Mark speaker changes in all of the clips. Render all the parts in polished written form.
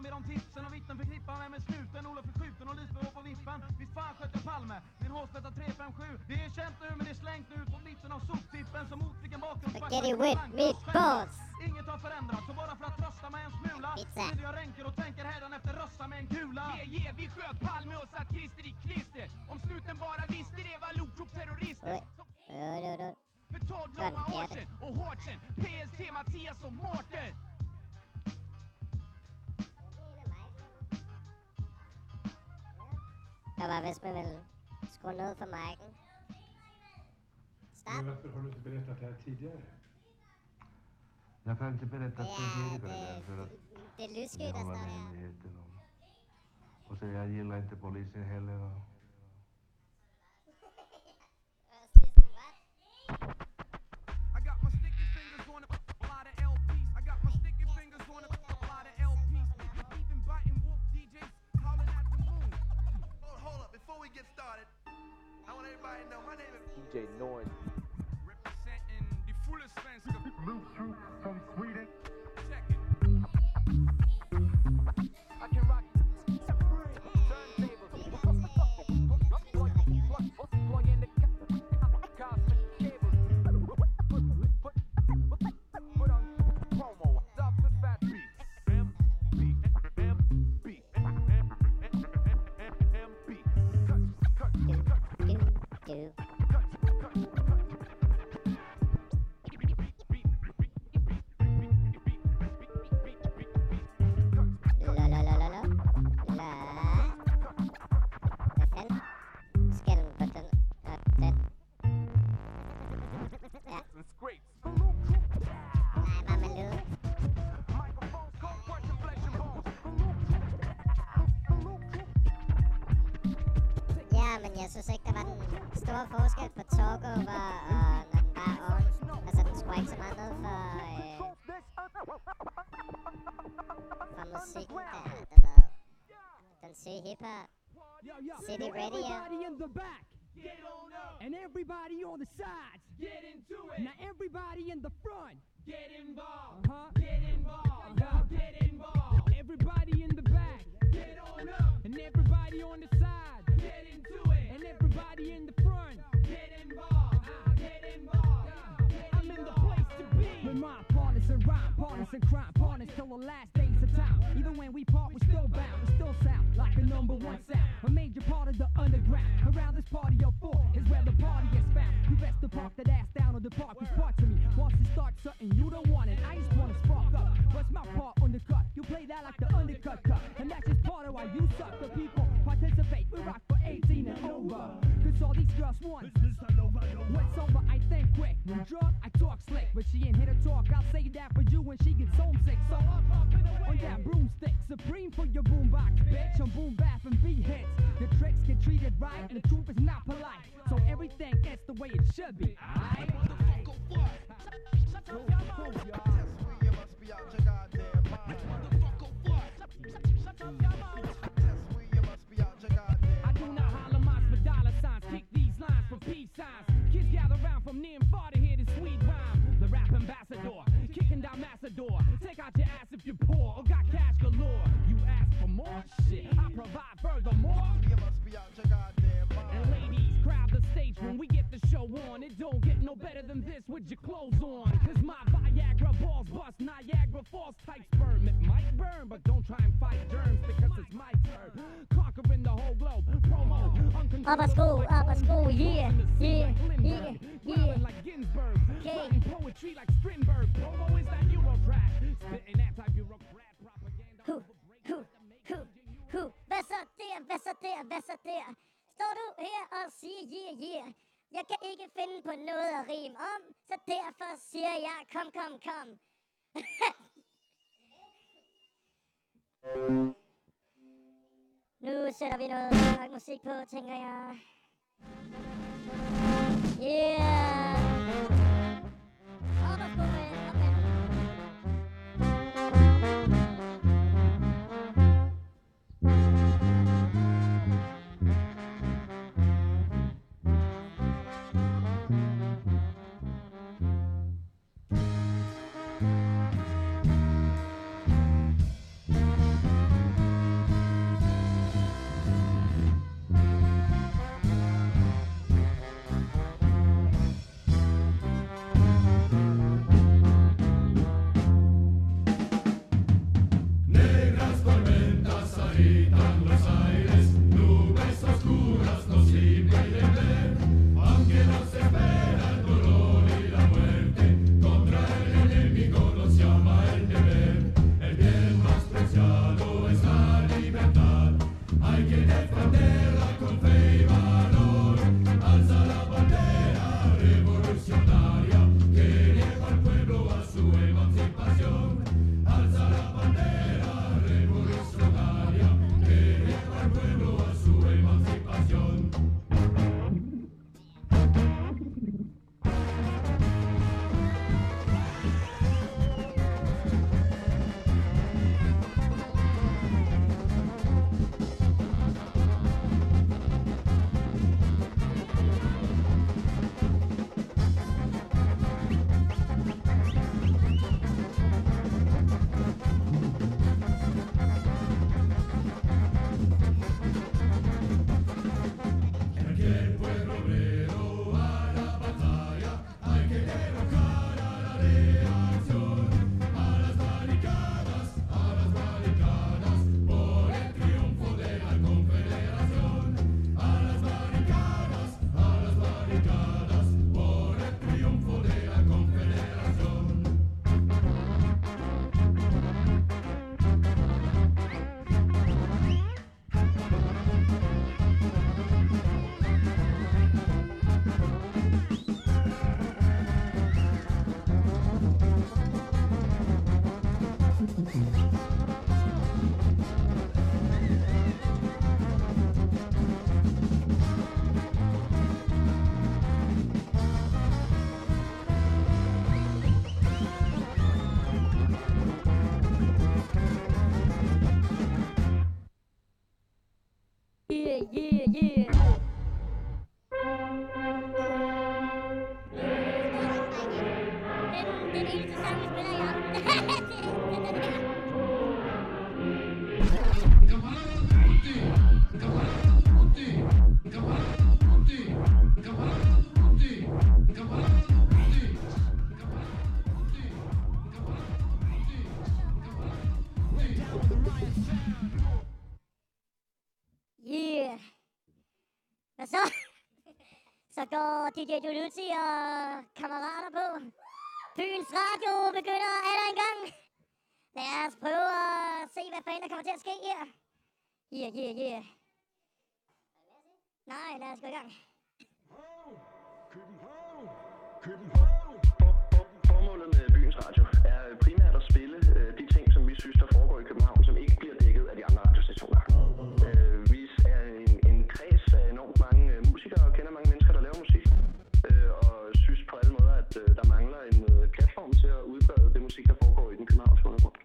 Speaker 1: ber om tipsen och vittnen förknippar mig med snuten. Olof är skjuten och Lisbeth på vippen. Visst fan sköt jag Palme, min hårstötta 357. Det är känt nu men det är slängt nu på mitten av soptippen. Som mot vilken bakgrund
Speaker 2: Get it with me, boss.
Speaker 1: Inget har förändrats, så bara för att trösta mig en smula vill jag ränker och tänker hädan efter rösta med en kula.
Speaker 3: Vi sköt Palme och satt Christer i klister. Om snuten bara visste det var Lokrop-terrorister. För 12 långa år sedan och hårt sen PST, Mattias och Mårten.
Speaker 2: Jag var vist med väl skru ned for mic'en. Stop.
Speaker 4: Men varför har du inte berättat det här tidigare?
Speaker 5: Jag kan inte berätta tidigare för att
Speaker 2: det är lysskyt
Speaker 5: har
Speaker 2: der
Speaker 5: man
Speaker 2: står her.
Speaker 5: hemligheten om. Och så jag gillar inte polisen heller. Och...
Speaker 3: I got my sticky fingers on a lot of LPs. I got my sticky fingers on a lot of LPs. Even biting wolf DJs calling at the moon.
Speaker 6: Hold up, before we get started, I want everybody to know my name is
Speaker 7: DJ Noise.
Speaker 3: Representing the fullest svenska.
Speaker 4: Bluetooth from Sweden.
Speaker 3: Check it. I can rock turntables. Plug in the cosmic cables. Put on promo. Stops with fat beats.
Speaker 2: Ja, men jeg synes ikke, der var den store forskel på talkover og når den bare on. Altså, den skulle ikke så meget ned for musikken der, du ved. Den syge hiphop. City radio.
Speaker 8: Everybody in the back.
Speaker 3: Get on up.
Speaker 8: And everybody on the sides.
Speaker 3: Get into it.
Speaker 8: Now everybody in the front.
Speaker 3: Get involved.
Speaker 8: Get
Speaker 3: involved. Get involved.
Speaker 8: Everybody in the back.
Speaker 3: Get on up.
Speaker 8: And everybody on the side.
Speaker 3: Get into it.
Speaker 8: And everybody in the front.
Speaker 3: Get involved. Get involved.
Speaker 8: I'm in the place to be. With my partners in rhyme, partners in crime, partners till the last days of time. Even when we part, we're still bound. We still sound like the #1 sound. A major part of the underground. Around this party of four is where the party is found. You best to park that ass down on the park. Cause part to me wants to start something you don't want it. I just wanna spark up. What's my part on the cut? You play that like the undercut cut. And that's just part of why you suck. The people participate. We rock for 18 and over. Cause all these girls want. When sober, I think quick. When drunk, I talk slick. But she ain't here to talk. I'll say that for you when she gets homesick. So up and away. On that broomstick. Supreme for your boombox, bitch. On boom bap and beat hits. The tricks get treated right. And the truth is not polite. So everything is the way it should be. Aight? Shut up, y'all.
Speaker 6: You must be out your goddamn mind.
Speaker 3: Motherfucker, what?
Speaker 8: Shut up, y'all.
Speaker 6: You must be out your goddamn
Speaker 8: I do not holler mines for dollar signs. Kick these lines for peace signs. Kids gather round from near and far to hear this sweet rhyme. The rap ambassador, kicking down Massador. Take out your ass if you're poor or got cash galore. You ask for more shit, I provide furthermore.
Speaker 6: You must be out your goddamn mind.
Speaker 8: And ladies, crowd the stage when we get the show on. It don't get no better than this with your clothes on. Cause my Viagra balls bust Niagara Falls type sperm. It might burn, but don't try and fight germs because it's my turn. Conquering the whole globe, promo,
Speaker 2: Up a school, yeah, yeah, yeah, yeah.
Speaker 8: like Ginsburg,
Speaker 2: Okay.
Speaker 8: writing poetry like Strindberg. Promo is that Eurotrash, spitting anti-bureaucrat propaganda.
Speaker 2: Hvad så der, hvad så der, hvad så der? Står du her og siger yeah, yeah. Jeg kan ikke finde på noget at rime om, så derfor siger jeg kom, kom, kom. Nu sætter vi noget rock musik på, tænker jeg. Yeah! Op og sko med, op med. Den eneste sang, vi spiller i aften. Det er den her. Yeah. Hvad så? Så går DJ Dulucci og kammerater på. Byens Radio begynder aller en gang. Lad os prøve at se, hvad fanden der kommer til at ske her. Yeah. Nej, lad os gå i gang.
Speaker 7: Formålet med Byens Radio er primært at spille de ting, som vi synes, der foregår i København, som ikke bliver dækket af de andre radiostationer. Vi er en kreds af enormt mange musikere og kender mange mennesker, der laver musik, og synes på alle måder, at der mangler en platform til at udbrede det musik, der foregår i den københavnske undergrund.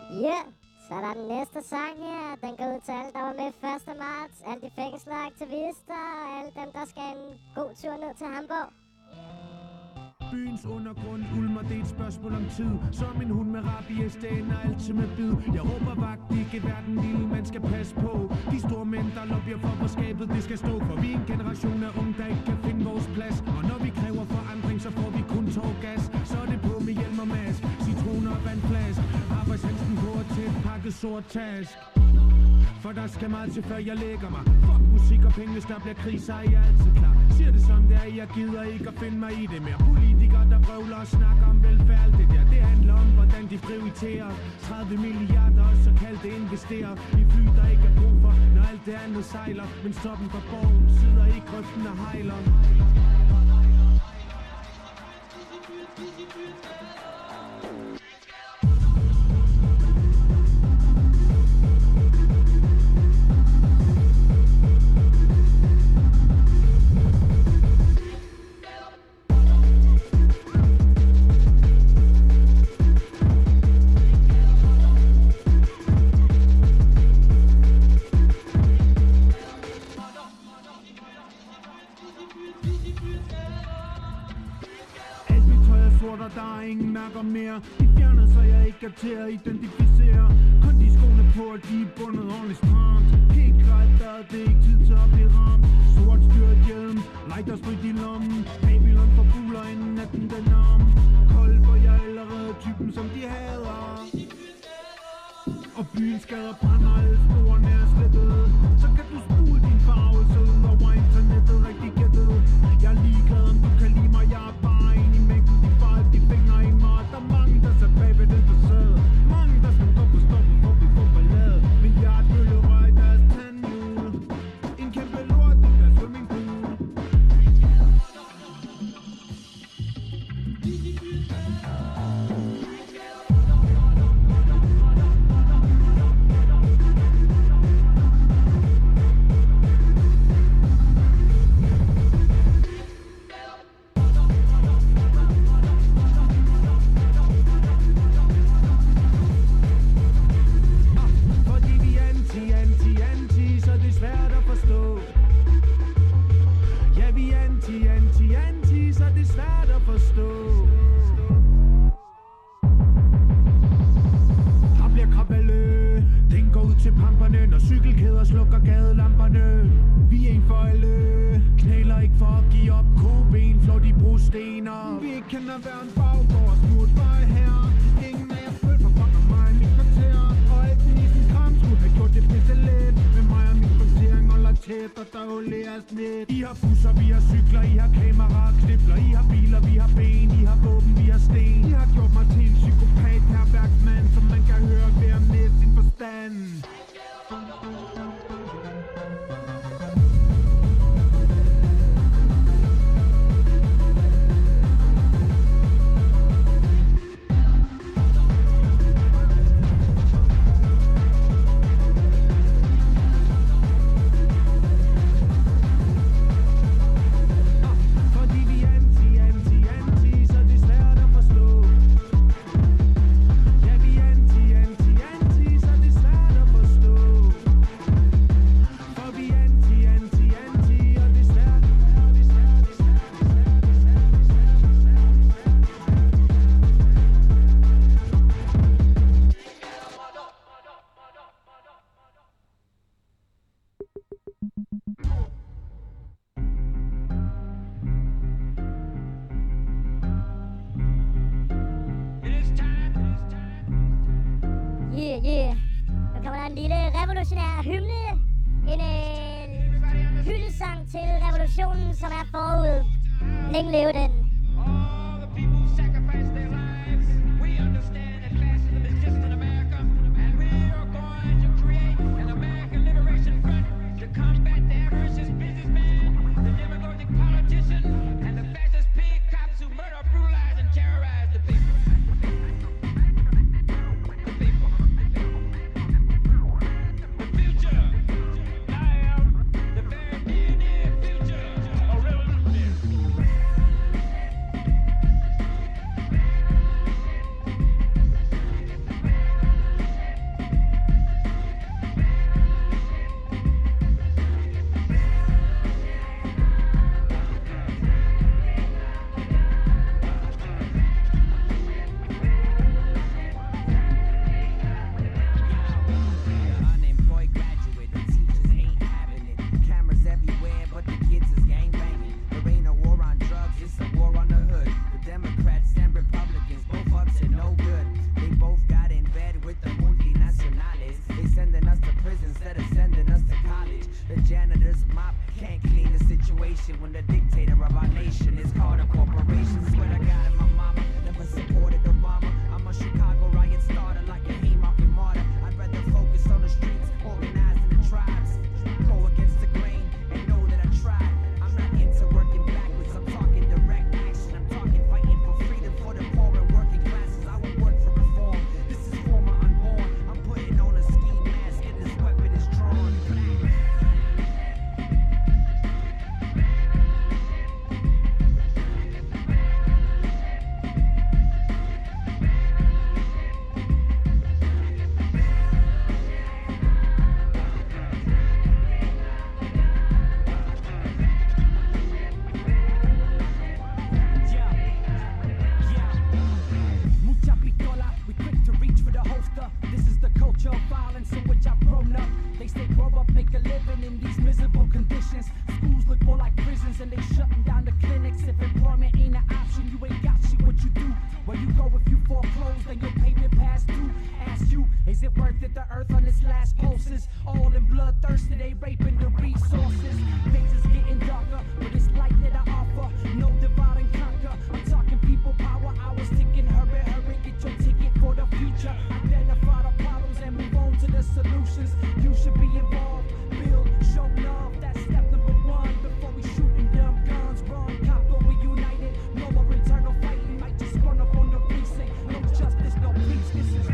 Speaker 2: Ja, så er der den næste sang her. Den går ud til alle, der var med 1. marts. Alle de fængselsaktivister og alle dem, der skal en god tur ned til Hamburg.
Speaker 9: Byens undergrund ulmer, det er et spørgsmål om tid. Som en hund med rabies, det ender altid med bid. Jeg råber vagt, ikke hver den lille man skal passe på. De store mænd, der lobbyer for skabet, det skal stå. For vi er en generation af unge, der ikke kan finde vores plads. Og når vi kræver forandring, så får vi kun tårgas. Så er det på med hjelm og mask, citroner og vandflask. Arbejdshandsken på og tæt pakket sort task. For der skal meget til, før jeg lægger mig. Fuck musik og penge, hvis der bliver krig, så er jeg altid klar. Siger det som det er, jeg gider ikke at finde mig i det mere. Politikere, der vrøvler og snakker om velfærd, alt det der. Det handler om, hvordan de prioriterer 30 milliarder og så kaldte investerer i fly, der ikke er brug for, når alt det andet sejler. Men stoppen for borgen sidder i grøften og hejler. Der er ingen nakker mere. De fjerner, så jeg ikke er til at identificere. Kun de skoene på, at de er bundet ordentligt stramt. Helt klart, der er det ikke tid til at blive ramt. Sort styrt hjelm, lighter sprit i lommen. Babylon forbuler inden natten den om. Kold, hvor jeg er allerede typen, som de hader. Og byens skader brænder, alle sporene er slettet. Så kan du spule din farvelse ud over internettet, rigtig gættet. Jeg er ligeglad, om du kan lide mig, jeg er bare en i mængden. De fejl, de fingre i mig, der er mange, der ser bag ved den facade. Mange, der skal gå på stoppen, for vi får ballade. Milliardbøllerør i deres tandhjul. En kæmpe lort i deres swimmingpool. Anti, så det er svært at forstå. Der bliver kraballe, den går ud til pamperne, når cykelkæder slukker gadelamperne. Vi er en for alle, knæler ikke for at give op, koben flår de brostener. Vi kan have været en baggård, smut vej her. Ingen af jer følger for fucker mig i mit kvarter. Og alt den i sin kram skulle have gjort det pisse let. Med mig og min kvartering holder tæt, og der olæres lidt. I har busser, vi har cykler, I har kameraer, knibler. I har biler, vi har ben, I har våben, vi har sten. I har gjort mig til en psykopat, herværksmand, som man kan høre hver med sin forstand.
Speaker 2: Yeah. Nu kommer der en lille revolutionær hymne. En hyldesang til revolutionen, som er forud. Længe leve den.
Speaker 3: All the people sacrifice their lives. We understand that fascism is just in America. And we are going to create an American Liberation Front to combat the avaricious businessman, the demagogic politician, and the fascist pig cops who murder, brutalize, and terrorize the people.
Speaker 8: Where you go if you foreclose, then your payment past due. Ask you, is it worth it? The earth on its last pulses, all in bloodthirsty, they raping the resources. Things is getting darker, but it's light that I offer. No divide and conquer. I'm talking people power. I was ticking, hurry, hurry, get your ticket for the future. Identify the problems and move on to the solutions. You should be involved, build, show love. That's step number one before we shooting dumb guns. Wrong copper, we united. No more internal fighting. Might just run up on the precinct. No justice, no peace. This is.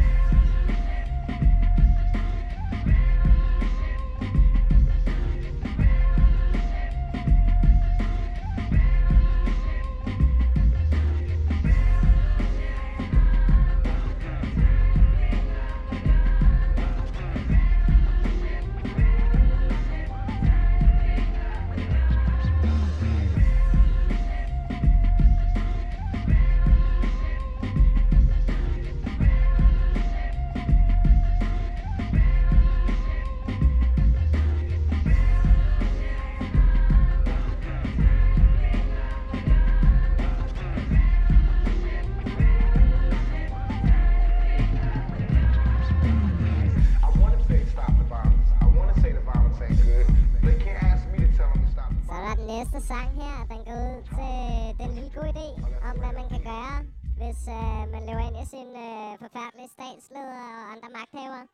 Speaker 2: Næste sang her, den går ud til den lille gode idé om, hvad man kan gøre, hvis man løber ind i sin forfærdelige statsleder og andre magthavere.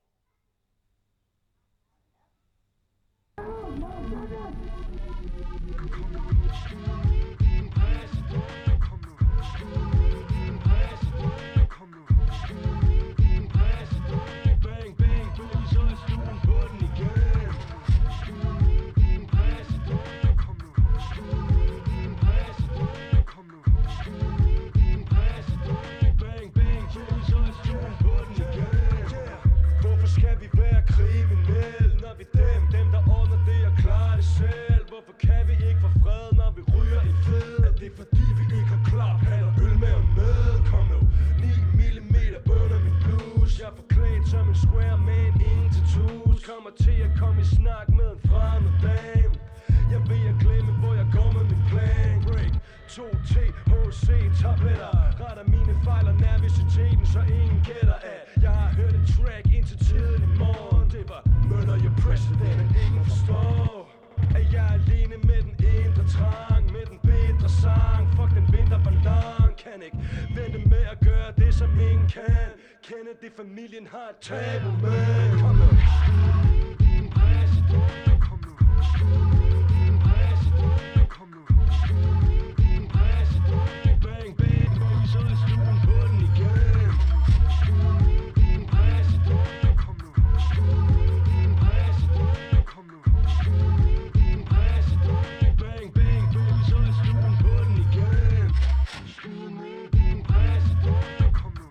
Speaker 10: Hvorfor kan vi ikke få fred, når vi ryger i fed? Er det fordi vi ikke har klaphatter, ølmaven med? Kom nu, 9 millimeter under min bluse. Jeg er forklædt som en square man, ingen tattoos. Kommer til at komme i snak med en fremmed dame. Jeg ved at glemme, hvor jeg går med min plan. Break, 2THC tabletter. Retter mine fejl og nervøsiteten, så ingen gætter af. Jeg har hørt et track indtil tiden i morgen. Det var murder your president, men ingen forstår at jeg er alene med den indre trang, med den bedre sang. Fuck den vinterballon, kan ikke vente med at gøre det som ingen kan. Kende det, familien har et tabu med. Kom nu. Kom nu. Kom nu. Bang, bang, baby, så er stuen på den igen. Kom nu. Kom nu. Bang, bang, baby, så er stuen på den igen. Kom nu.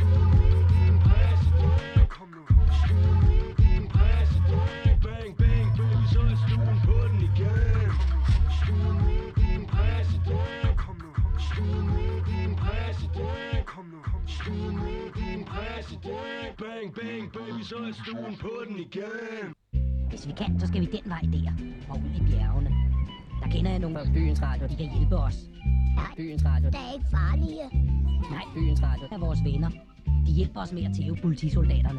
Speaker 10: Kom nu. Bang, bang, baby, så er stuen på den igen. Kom nu. Kom nu. Bang, bang, baby, så er stuen på den igen.
Speaker 11: Hvis vi kan, så skal vi den vej der, og ud i bjergene. Der kender jeg nogle af byens radio, de kan hjælpe os. Byens radio.
Speaker 2: Der er ikke farlige.
Speaker 11: Nej, byens radio er vores venner. De hjælper os med at tæve politisoldaterne.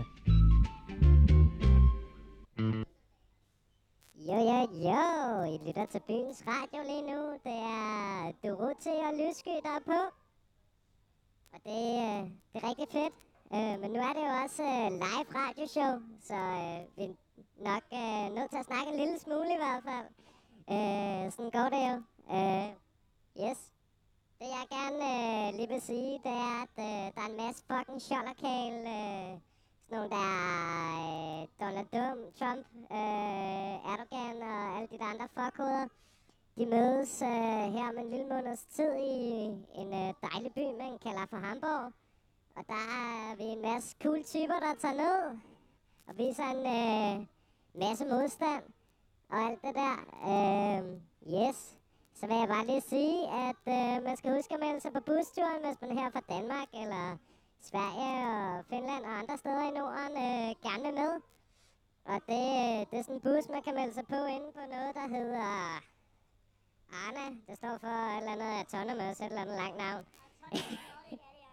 Speaker 2: Jo, I lytter til byens radio lige nu. Det er Dorothy og Lyssky, der er på. Og det er rigtig fedt. Men nu er det jo også live radioshow, så vi er nok nødt til at snakke en lille smule i hvert fald. Sådan går det jo. Yes. Det jeg gerne lige vil sige, det er, at der er en masse fucking sjollerkal. Sådan nogle der Donald Trump, Erdogan og alle de andre fuckhoveder. De mødes her om en lille måneds tid i en dejlig by, man kalder for Hamburg. Og der er vi en masse cool typer, der tager ned og viser en masse modstand og alt det der. Yes. Så vil jeg bare lige sige, at man skal huske at melde sig på busturen, hvis man er her fra Danmark eller Sverige og Finland og andre steder i Norden gerne vil med. Og det er sådan en bus, man kan melde sig på inde på noget, der hedder Arna. Det står for et eller andet autonomous, et eller andet langt navn.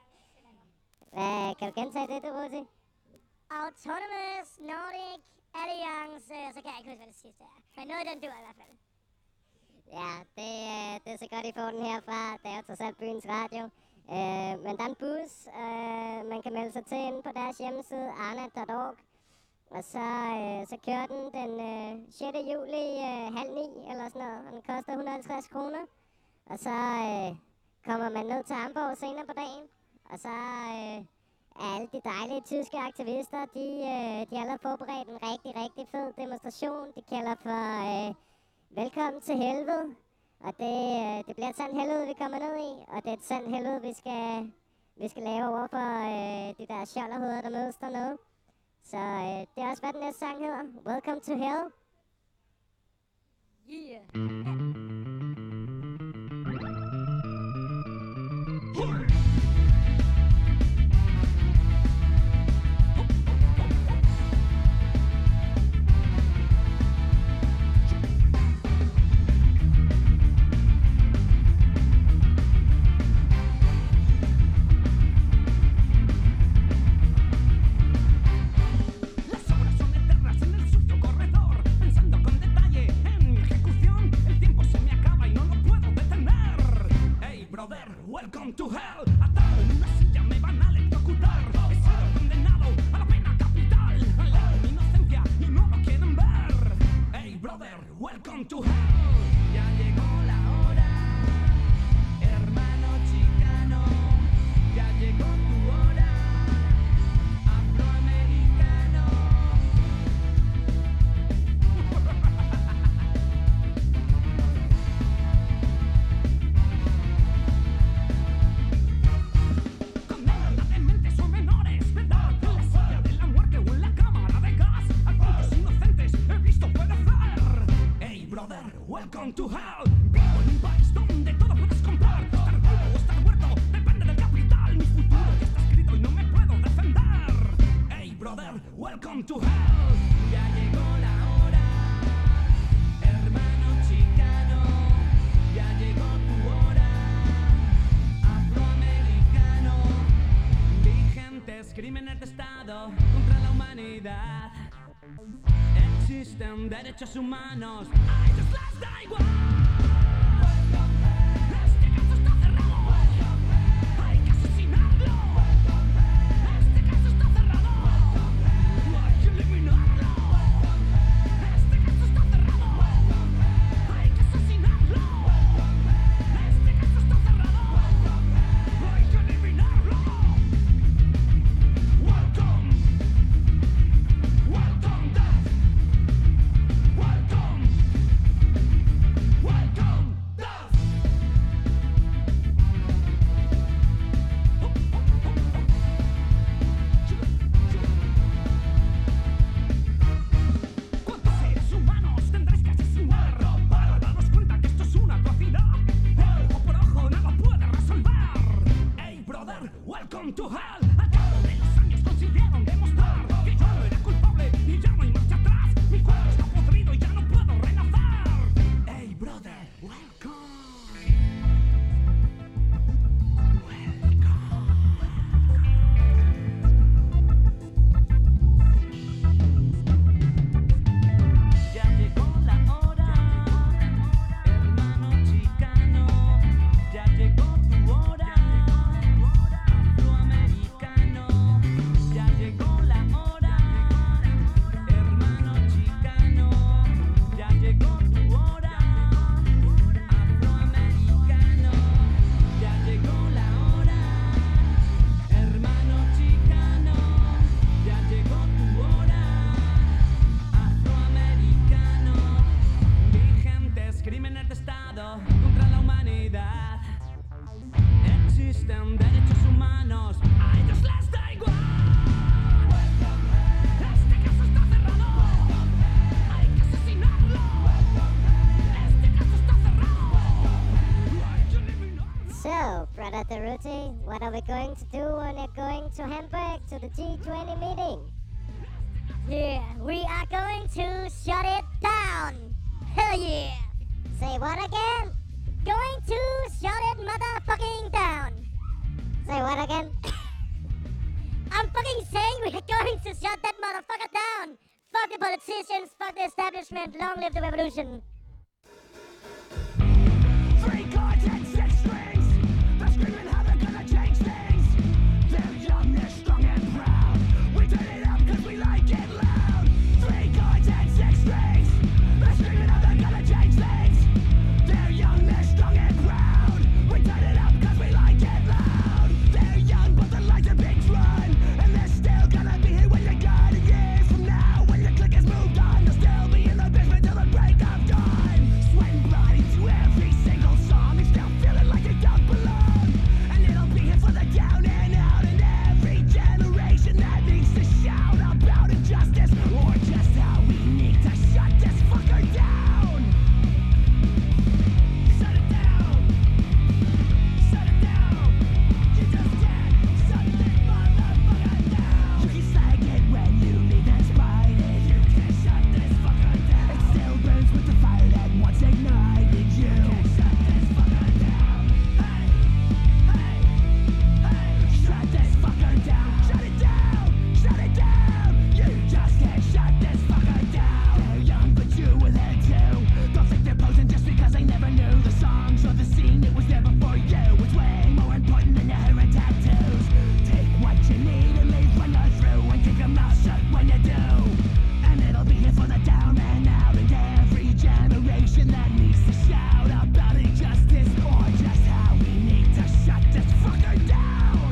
Speaker 2: Kan du gentage det, du Ruti? Autonomous Nordic Alliance, så kan jeg ikke huske, hvad det sidste er. Men noget den dur i hvert fald. Ja, det er så godt, I får den herfra. Det er jo trods alt byens radio. Men der er en bus, man kan melde sig til inde på deres hjemmeside, arna.org. Og så kører den 6. juli 8:30 eller sådan noget, og den koster 150 kroner. Og så kommer man ned til Hamburg senere på dagen. Og så alle de dejlige tyske aktivister, de har allerede forberedt en rigtig, rigtig fed demonstration. De kalder for Velkommen til helvede. Og det bliver et sandt helvede, vi kommer ned i. Og det er et sandt helvede, vi skal lave over for de der skjolderhoveder, der mødes dernede. Så det er også, hvad den næste sang hedder. Welcome to hell. Yeah.
Speaker 8: Welcome to hell. Atado en una silla me van a electrocutar. He sido condenado a la pena capital. Alejo mi inocencia y no lo quieren ver. Hey brother, welcome to hell. Ya llegó la hora, hermano chicano. Ya llegó tu hora, afroamericano. Welcome to hell. Vivo en un país donde todo puedes comprar. Estar vivo o estar muerto depende del capital. Mi futuro ya está escrito y no me puedo defender. Hey brother, welcome to hell. Ya llegó la hora, hermano chicano. Ya llegó tu hora, afroamericano. Vigentes crímenes de Estado contra la humanidad. Existen derechos humanos, a ellos les da igual. Este caso está cerrado, hay que asesinarlo. Este caso está cerrado, hay que eliminarlo. Este caso está cerrado, hay que asesinarlo. Este caso está cerrado, hay que eliminarlo. Welcome, welcome death. Welcome, welcome death. ¿Cuántos seres humanos tendréis que asesinar para darnos cuenta que esto es una atrocidad? Ojo por ojo nada puede resolver. Hey brother, welcome to hell. Al cabo de los años consiguieron demostrar que yo no era culpable y ya no hay marcha atrás. Mi cuerpo está podrido y ya no puedo renacer. Hey brother, welcome. Ya llegó la hora, hermano chicano. Ya llegó tu hora, afroamericano. Ya llegó la hora, hermano chicano. Ya llegó tu hora, afroamericano. Ya llegó la hora, hermano chicano. Ya llegó tu hora, afroamericano. Vigentes crímenes de Estado contra la humanidad. Existen derechos humanos, a ellos les da igual. Este caso está cerrado, hay que asesinarlo. Este caso está cerrado, hay que eliminarlo.
Speaker 2: So, Brother Taruti, what are we going to do when we're going to Hamburg to the G20 meeting? Yeah, we are going to shut it down. Hell yeah. Say what again? Going to shut it motherfucking down. Say what again? fucking saying we're going to shut that motherfucker down. Fuck the politicians, fuck the establishment, long live the revolution.
Speaker 8: Three chords and six strings. They're screaming how they're gonna change things. They're young, they're strong and proud. We turn it up cause we like it loud. Three chords and six strings. They're screaming how they're gonna change things. They're young, they're strong and proud. We turn it up cause we like it loud. They're young but the lights are big run. And they're still gonna be here when you're gone. Years from now when your clique has moved on, they'll still be in the basement till the break of dawn. Sweat and blood into every single song. They still feeling like they don't belong. And it'll be here for the down and out. And every generation that needs to shout about injustice or just how we need to shut this fucker down. Shut it down. Shut it down. You just can't shut this motherfucker down. You can slag it when you leave and spite it. You can't shut this fucker down. It still burns with the fire that once ignited you. You can't shut this fucker down. Hey, hey, hey. Shut this fucker down. Shut it down. Shut it down. You just can't shut this fucker down. They're young but you were there too. Don't think they're posing just because they never knew the songs or the scene. It was there before you. It's way more important than your hair and tattoos. Take what you need and leave when you're through. And keep your mouth shut when you do. And it'll be here for the down and out. And every generation that needs to shout about injustice or just how we need to shut this fucker down.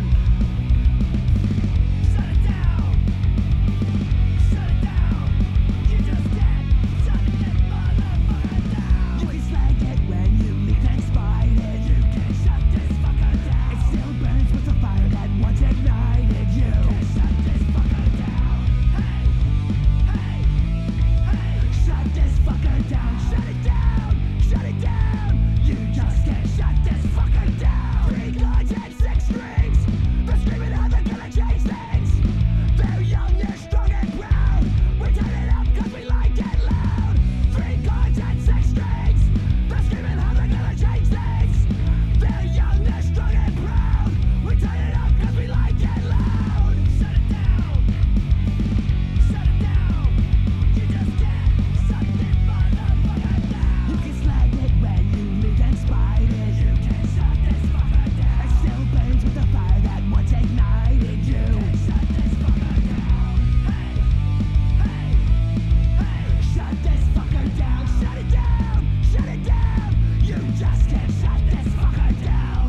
Speaker 8: Shut it down. Shut it down. You just can't shut this motherfucker down. You can slag it when you leave and spite it. You can't shut this fucker down. It still burns with the fire that once ignited you. Can't shut this fucker down. Hey, hey, hey. Shut this fucker down. Shut it down. Shut it down. You just can't shut this fucker down. Three chords and six strings. They're screaming how they're gonna change things. They're young, they're strong and proud. We turn it up cause we like it loud. Three chords and six strings. They're screaming how they're gonna change things. They're young, they're strong and proud. We turn it up cause we like it loud. Shut it down. Shut it down. You just can't shut this motherfucker down. You can slag it when you leave and spite it. You can't shut this fucker down. It still burns with the fire that once ignited you. Can't shut this fucker down. Hey, hey, hey. Shut this fucker down. Shut it down. Shut it down. You just can't shut this fucker down.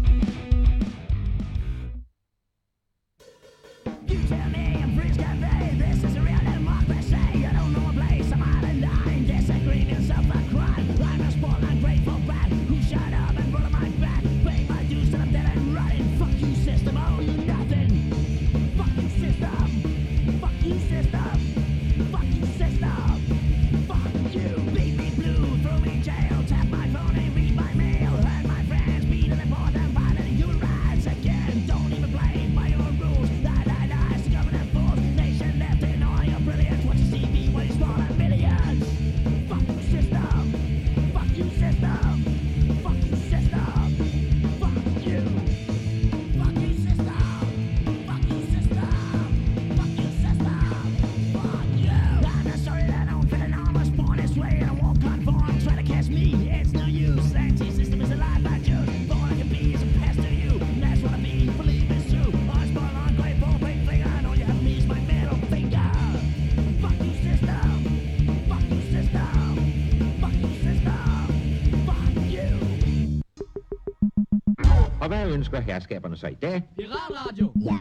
Speaker 8: You tell me I'm free cafe. This is a real democracy. You don't know a place. I'm out of line. Disagreeing yourself a crime. I'm a spoiled, ungrateful brat who shut up and roll my back. Pay my dues till I'm dead and rotten. Fuck you, system. Oh, you nothing. Fuck you, system. Fuck you, system. Fuck you, system. Fuck you. Beat me blue, throw me in jail. Tap my phone and read my mail. Hurt my friends, beat and report them violent human rights again. Don't even blame by your rules. It's the government fools. Nation left in all your brilliance. Watch your CV when it's smaller millions. Fuck you, system. Fuck you, system. Fuck you, system. Fuck you. Fuck you, system. Fuck you, system. Fuck you, system. Fuck you. I'm not sorry that I don't fit in. I was born this way and I won't conform. Try to catch me, it's no use. Anti-system is a lie by Jude. All I can be is a pest to you. That's what I mean. Believe it's true. I'm spoiled, ungrateful, big finger. And all you have me is my middle finger. Fuck you, system. Fuck you, system. Fuck you, system. Fuck you.
Speaker 12: Og hvad ønsker herskaberne så i dag?
Speaker 8: Piratradio.
Speaker 2: Ja.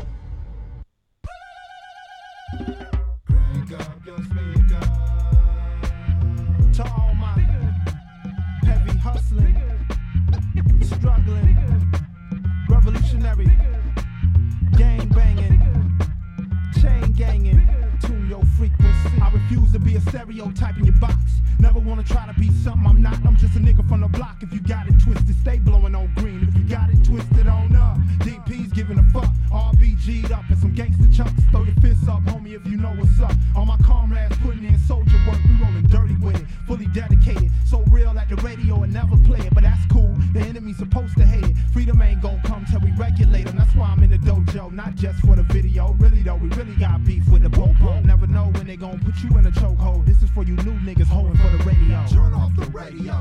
Speaker 13: To all my heavy hustling, struggling, revolutionary, gang banging, chain ganging, tune your frequency. I refuse to be a stereotype in your box. Never wanna try to be something I'm not. I'm just a nigga from the block. If you got it twisted, stay blowing on green. If you got it twisted on up, DP's giving a fuck. RBG'd up and some gangster chunks. Throw your fists up, homie, if you know what's up. All my comrades putting in soldier work. We rolling dirty with it, fully dedicated. So real at the radio and never play it, but that's cool. The enemy's supposed to hate it. Freedom ain't gon' come till we regulate them. That's why I'm in the dojo, not just for the video. Really though, we really got beef with the popo. Never know when they gon' put you in a chokehold. This is for you new niggas hoeing for the radio. Turn off the radio.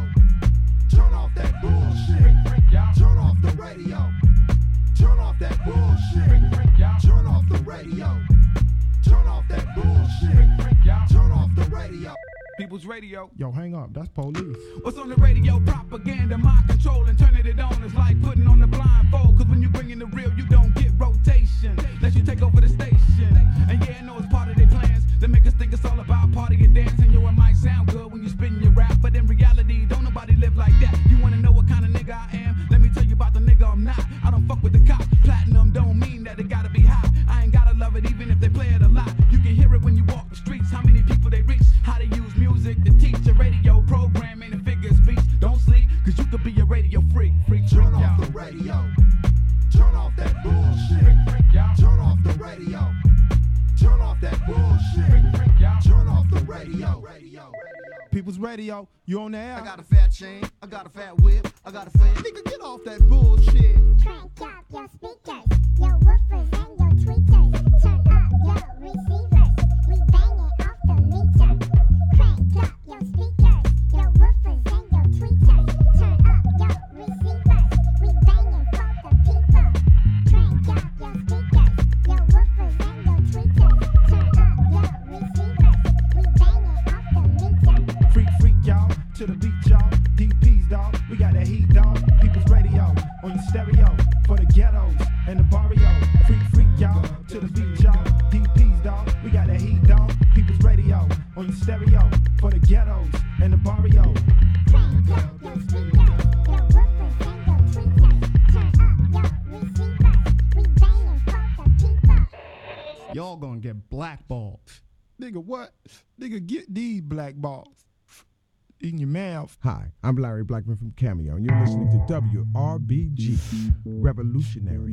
Speaker 13: Turn off that bullshit. Turn off the radio. Turn off that bullshit. Turn off the radio. Turn off that bullshit. Turn off the radio.
Speaker 14: People's Radio.
Speaker 13: Yo, hang up. That's police.
Speaker 14: What's on the radio? Propaganda, mind control, and turning it on is like putting on the blindfold. Cause when you bring in the real, you don't get rotation. Let you take over the station. And yeah, I know it's part of their plans. They make us think it's all about party and dance. And yo, it might sound good when you spin your rap, but in reality, don't nobody live like that. You wanna know what kind of nigga I am? Let me tell you about the nigga I'm not. I don't fuck with the cops. Platinum don't mean that it gotta be hot. I ain't gotta love it even if they play it a lot. You can hear it when you walk the streets. How many people they reach? How they use music to teach a radio programming and figure speech. Don't sleep, cause you could be a radio freak.
Speaker 13: Turn off the radio. Turn off that bullshit. Turn off the radio. Turn off that bullshit. Turn off the radio. People's Radio, you on the air?
Speaker 6: I got a fat chain, I got a fat whip, I got a fat.
Speaker 13: Nigga, get off that bullshit.
Speaker 2: Crank up your speakers, your woofers and your tweeters. Turn up your receivers, we banging off the meter. Crank up your speakers, your woofers and your tweeters. Turn up your receivers, we banging for the people. Crank up your speakers, your woofers and your tweeters. Turn up your receivers, we banging off the meter.
Speaker 13: Freak, y'all, to the beat, y'all. DPs, dawg, we got that heat, dawg. People's Radio, on your stereo, for the ghettos and the barrio. Freak, y'all, to the beat, y'all. DPs, dawg, we got that heat, dawg. People's Radio, on your stereo, for the ghettos and the barrio.
Speaker 2: Crank up your speakers, your woofers and your tweeters. Turn up your receivers, we banging for the people.
Speaker 13: Y'all gonna get blackballed. Nigga, what? Nigga, get these blackballs in your mouth.
Speaker 9: Hi, I'm Larry Blackman from Cameo, and you're listening to WRBG, Revolutionary.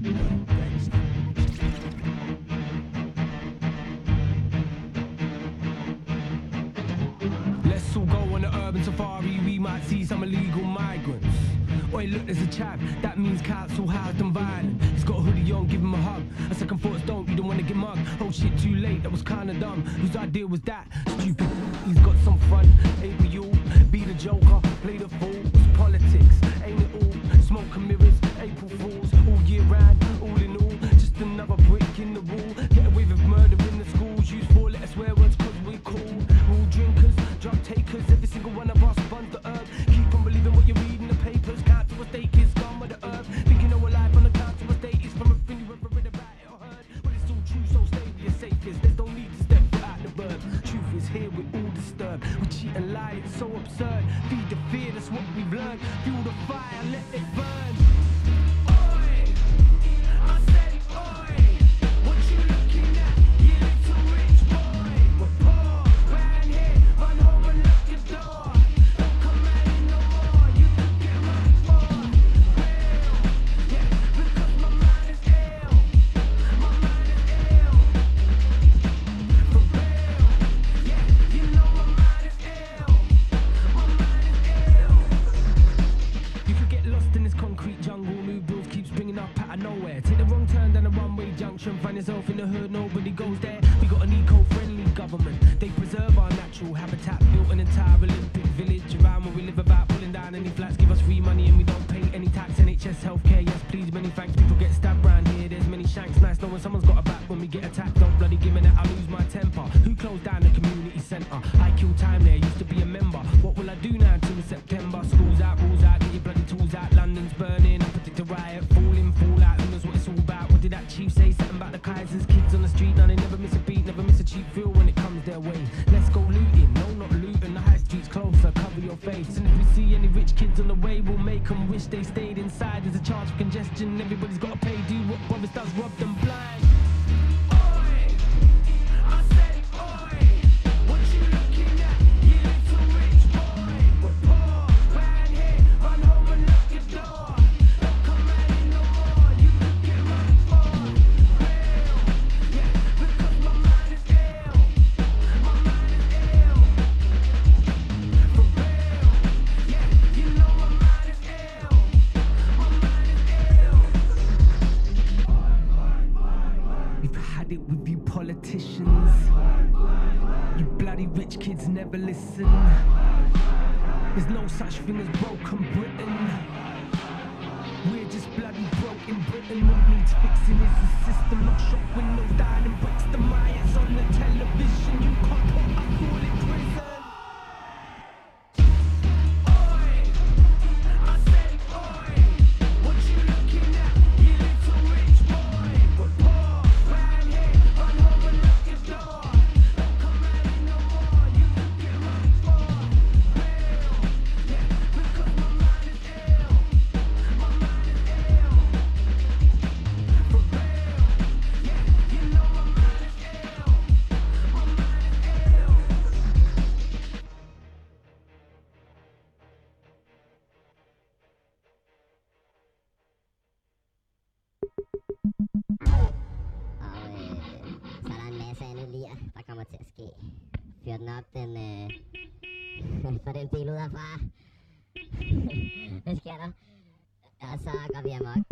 Speaker 8: Let's all go on the urban safari, we might see some illegal migrants. Oi, look, there's a chap, that means council housed and violent. He's got a hoodie on, give him a hug. A second thoughts don't, you don't wanna get mugged. Oh shit, too late, that was kinda dumb. Whose idea was that? Stupid, he's got some fun. Ain't we all? Be the joker, play the fool. It's politics, ain't it all? Smoke and mirrors, April Fools. All year round, all in all. Just another brick in the wall. Get away with murder in the schools. Use 4-letter swear words cause we cool. All drinkers, drug takers. Every single one of us buns the herb. Keep on believing what you read in the papers. Council estate is scum with the herb. Thinking our life on the council estate is from everything you ever read about it or heard. But it's all true, so stay with your safest. There's no need to step foot out the burb. Truth is here, we're all disturbed. We cheat and lie, it's so absurd. Feed the fear, that's what we've learned. Fuel the fire, let it burn. Oi, I said oi. What you looking at, you little rich boy? We're poor, round here, run home and lock your door. Don't come out here no more, you could get run for. Real, yeah, because my mind is ill. My mind is ill. For real, yeah, you know my mind is ill. My mind is ill. You could get lost in this concrete jungle. New bills keep springing up out of nowhere. Take the wrong turn down a one-way junction. Find yourself in the hood, nobody goes there. We got an eco-friendly government. They preserve our natural habitat. Built an entire Olympic village around where we live about pulling down any flats. Give us free money and we don't pay any tax. NHS healthcare, yes please, many thanks. People get stabbed round here, there's many shanks. Nice knowing someone's got a back when we get attacked. Don't bloody give me that, I lose my temper. Who closed down the community centre? I kill time there, used to be a member. What will I do now until September? Schools out, rules out, get your bloody tools out. London's burning, I predict a riot. Fall in, fall out, who knows what it's all about. What did that chief say? Something about the Kaisers. Kids on the street, now they never miss a beat, never miss a cheap feel when it comes their way. Let's go looting, no not looting. The high street's closer, cover your face. And if we see any rich kids on the way, we'll make them wish they stayed inside. There's a charge for congestion, everybody's gotta pay. Do what brothers does, rob them blind. Oi, I said oi. What you looking at, you little rich boy? We're poor, round here, run home and lock your door. Don't come out here no more, you could get run for. Real, yeah, because my mind is ill. My mind is ill. For real, yeah, you know my mind is ill. My mind is ill.
Speaker 9: it with you politicians. You bloody rich kids never listen. There's no such thing as broken Britain. We're just bloody broke in Britain. What needs fixing is the system. Not shop windows, dining bricks, the riots on the television. You can't put a fool in prison.
Speaker 2: Fyr den op, få den bil ud herfra. Det sker der. Og så går vi amok.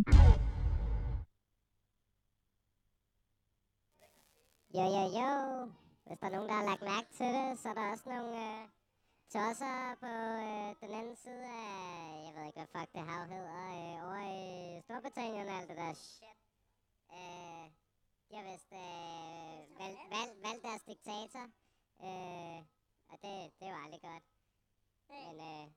Speaker 2: Jo. Hvis der er nogen, der har lagt mærke til det, så er der også nogle tosser på den anden side af, jeg ved ikke, hvad fuck det hav hedder, over i Storbritannien og alt det der shit. De har vist valgt deres diktator. Og det var aldrig godt. Men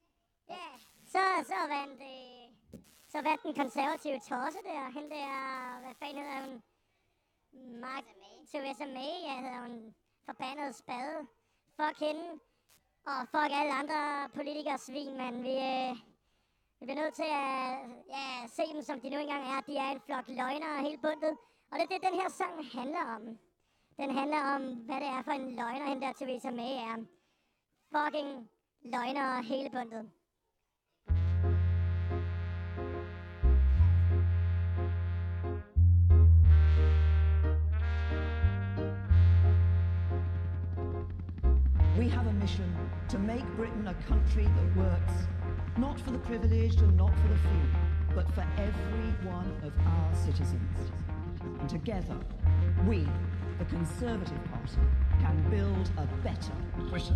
Speaker 2: så vandt den konservative tosse der, hende der, hvad fanden hedder hun? Theresa May, ja, hedder hun, forbandet spade. Fuck hende, og fuck alle andre politikere svin, men vi bliver nødt til at se dem, som de nu engang er. De er en flok løgnere helt bundet. Og det er det, den her sang handler om. Den handler om, hvad det er for en løgner, hende der Theresa May er. Fucking løgner hele bundet.
Speaker 15: We have a mission to make Britain a country that works, not for the privileged and not for the few, but for every one of our citizens. And together, we, the Conservative Party, can build a better Britain.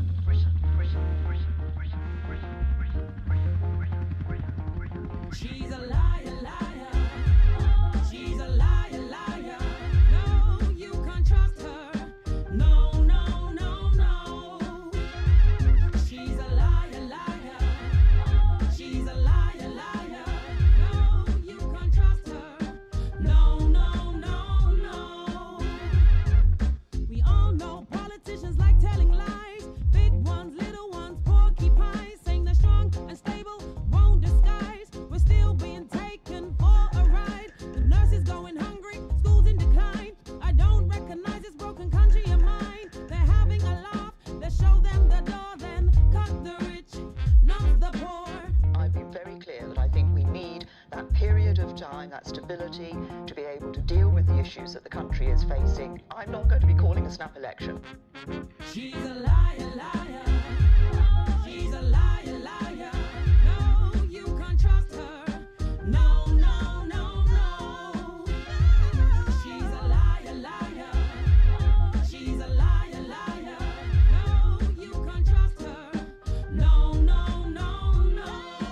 Speaker 8: She's a liar, liar. She's a liar, liar. No, you can't trust her. No, no, no, no. She's a liar, liar. She's a liar, liar. No, you can't trust her. No, no, no, no. We all know politicians like telling lies. Big ones, little ones, porcupines, saying they're strong and stable, won't disguise. We're still being taken for a ride. The nurses going hungry, schools in decline. I don't recognize this broken country of mine. They're having a laugh, they show them the door, then cut the rich, not the poor.
Speaker 16: I've been very clear that I think we need that period of time, that stability, to be able to deal with the issues that the country is facing. I'm not going to be calling a snap election.
Speaker 8: She's a liar, liar. She's a liar, liar. No, you can't trust her. No, no, no, no. She's a liar, liar. She's a liar, liar. No, you can't trust her. No, no, no, no.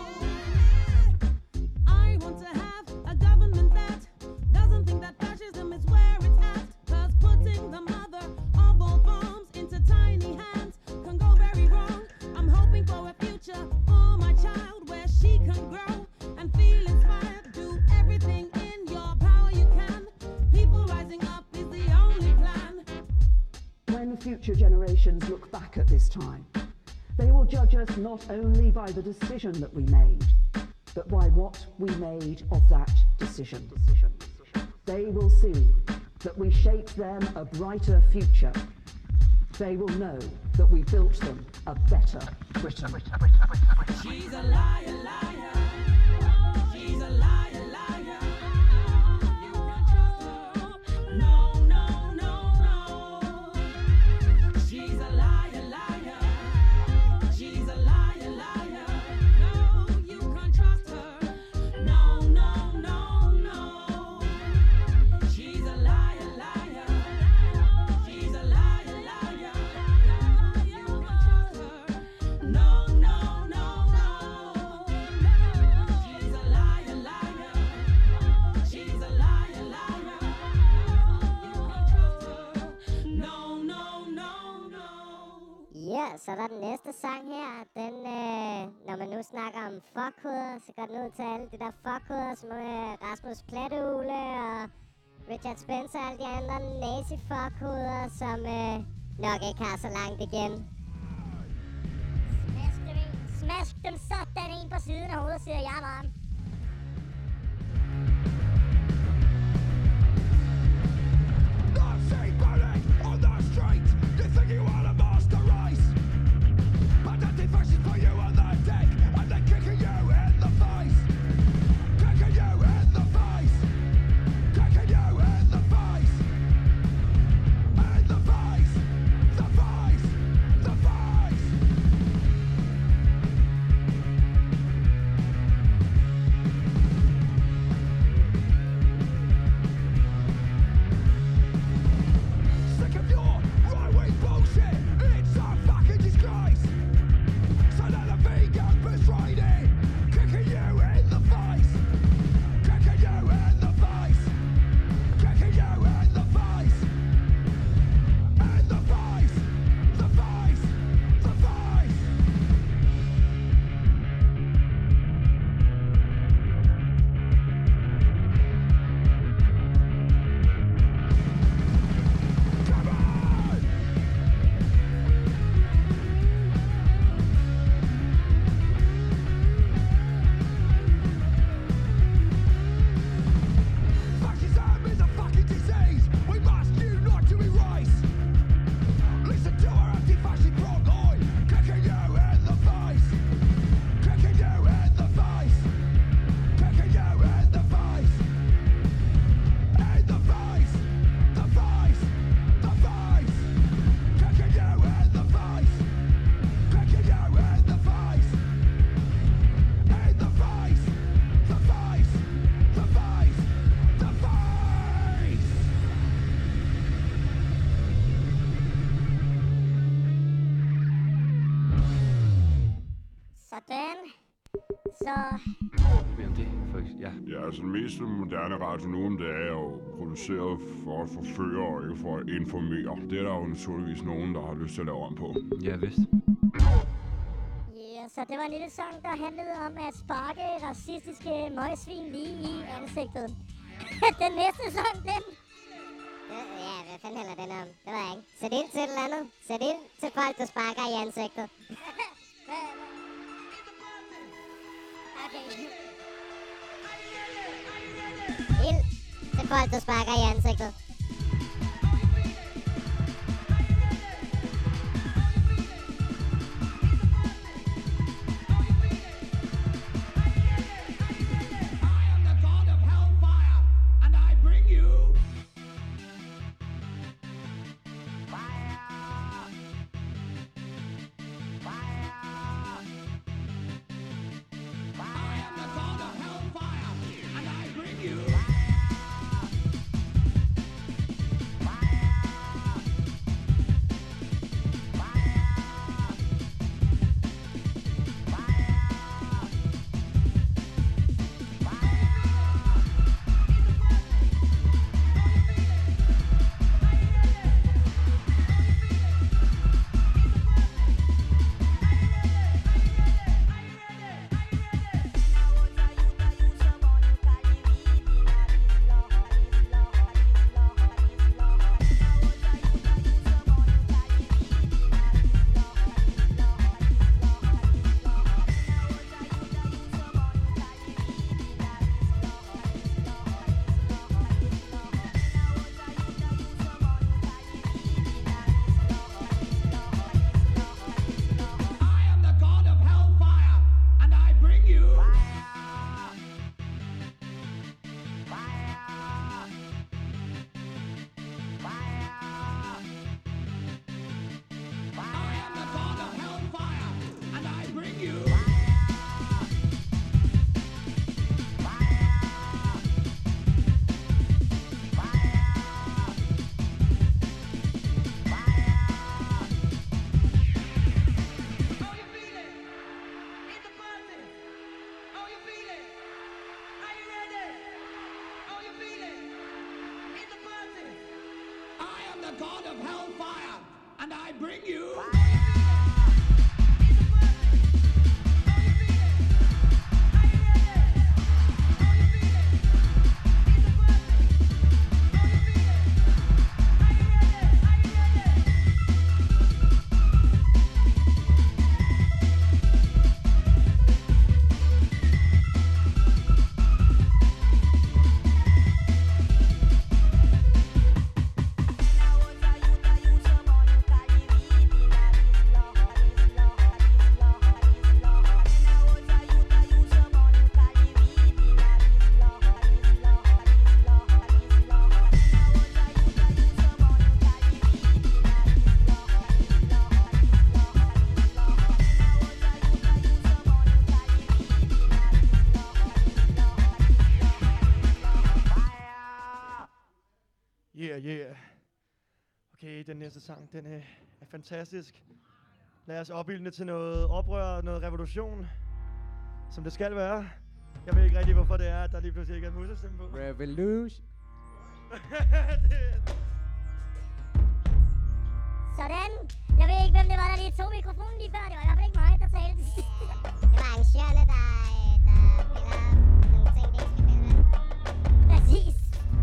Speaker 8: I want to have a government that doesn't think that fascism is where it's at. 'Cause putting the mother of all bombs into tiny hands can go very wrong. I'm hoping for a future for my child where she can grow and feel inspired. Do everything in your power you can. People rising up is the only plan.
Speaker 15: When future generations look back at this time, they will judge us not only by the decision that we made, but by what we made of that decision. They will see that we shaped them a brighter future. They will know that we built them a better Britain.
Speaker 8: She's a liar, liar. She's a liar, liar. You can't trust her. No, no, no, no. She's a liar, liar. She's a liar, liar. No, you can't trust her. No, no, no, no. She's a liar, liar.
Speaker 2: Så er der den næste sang her. Den, når man nu snakker om fuckhoveder, så går den ud til alle de der fuckhoveder, som Rasmus Platteugle og Richard Spencer og alle de andre nazi-fuckhoveder, som nok ikke har så langt igen. Smask dem sådan en på siden af hovedet, siger jeg bare.
Speaker 17: On the street, you think you are a master race, but that fashion for you on the deck, and they're kicking you in the face, kicking you in the face, kicking you in the face, in the face, the face, the face. Sick of your right-wing bullshit, it's a fucking disgrace. So let the vegan betray it, kicking you in the face, kicking you in the face, kicking you in the face, in the face, the face, the face. Come on! Fascism is a fucking disease we must unite to erase. Listen to our anti-fascist front line, kicking you in the face, kicking you in the face, kicking you in the face, in the face, the face, the face, kicking you in the face, kicking you in the face, in the face, the face, the face, the face.
Speaker 2: Sådan. Så
Speaker 5: Jamen det, for ja.
Speaker 18: Ja, altså den mest moderne radio nu om det er jo produceret for at forføre og ikke for at informere. Det er der jo naturligvis nogen, der har lyst til at lave om på.
Speaker 5: Ja, vist.
Speaker 2: ja, så det var en lille sang, der handlede om at sparke racistiske møgsvin lige i ansigtet. Den næste sang, den... Ja, hvad fanden handler den om? Det ved jeg ikke. Sæt ind til et eller andet. Sæt ind til folk, du sparker i ansigtet. Okay. Ild til folk, du sparker i ansigtet.
Speaker 17: And I bring you
Speaker 19: god of hellfire, and I bring you. Yeah. Okay, den næste sang, den er fantastisk. Lad os opildne til noget oprør, noget revolution, som det skal være. Jeg ved ikke rigtig, hvorfor det er, at der lige pludselig ikke er musestemme på.
Speaker 20: Revolution.
Speaker 2: Sådan. Jeg ved ikke, hvem det var, der lige tog mikrofonen lige før. Det var i hvert fald ikke mig, der talte. Det var arrangørerne, der spiller nogle ting, de ikke skal spille med. Præcis.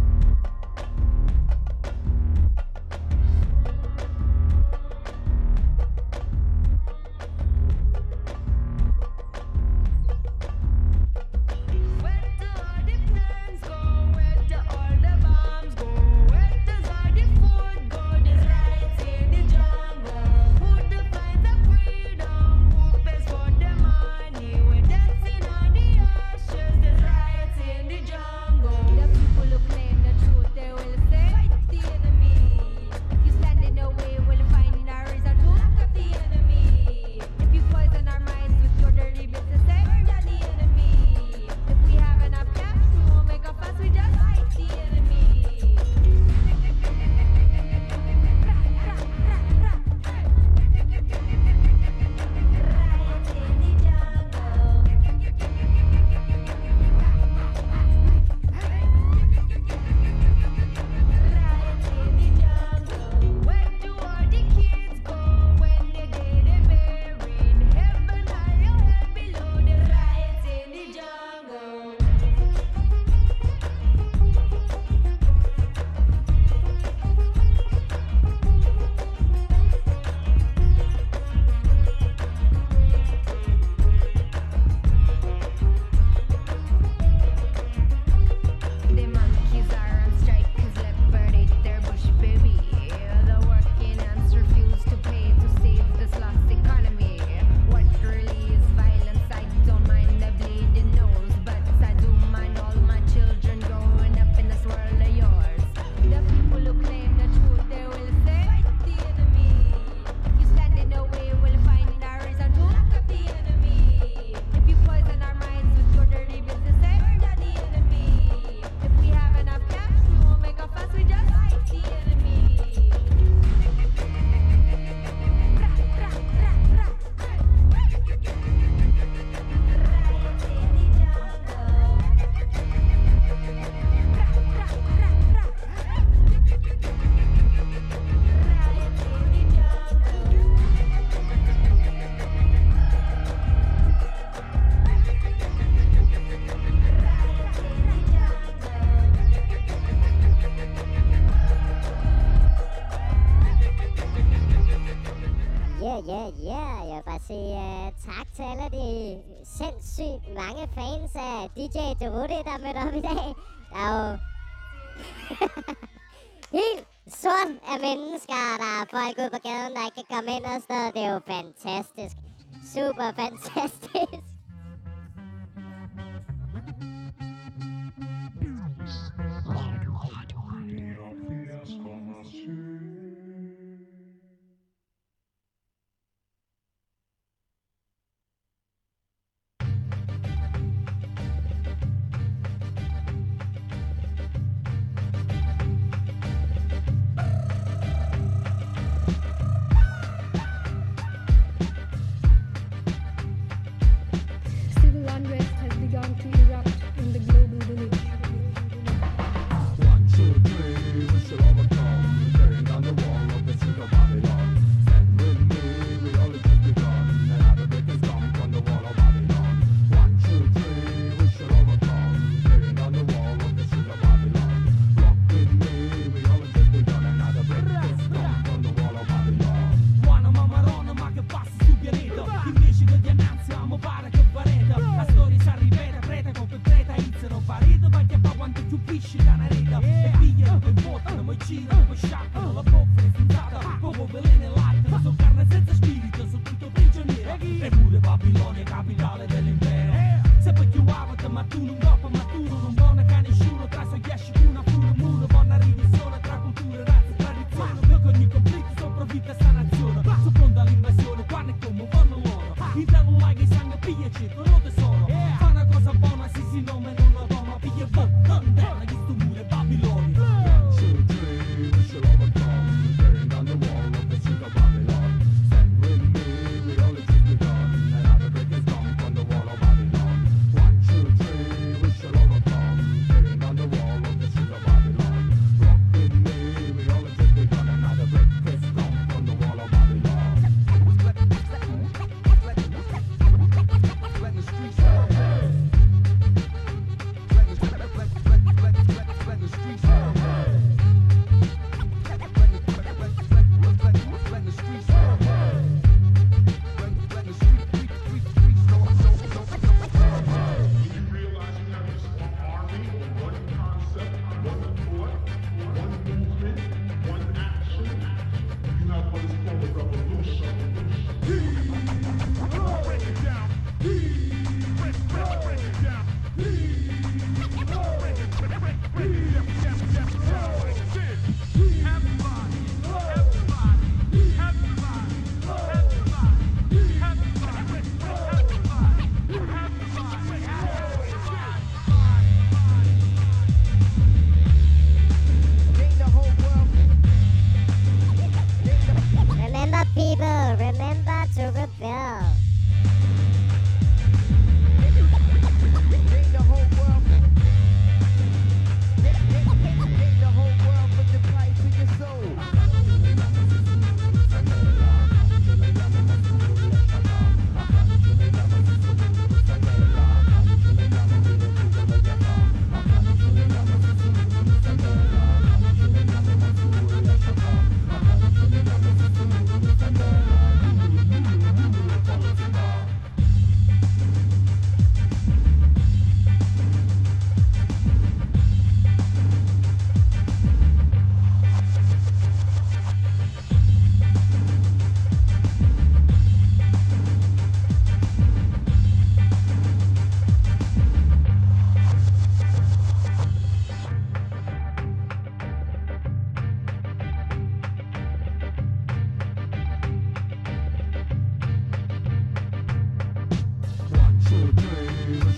Speaker 2: Yeah. Jeg vil bare sige tak til alle de sindssygt mange fans af DJ Derude, der er mødt op i dag. Der er jo helt sort af mennesker, der er folk ude på gaden, der ikke kan komme ind og sådan. Det er jo fantastisk. Super fantastisk.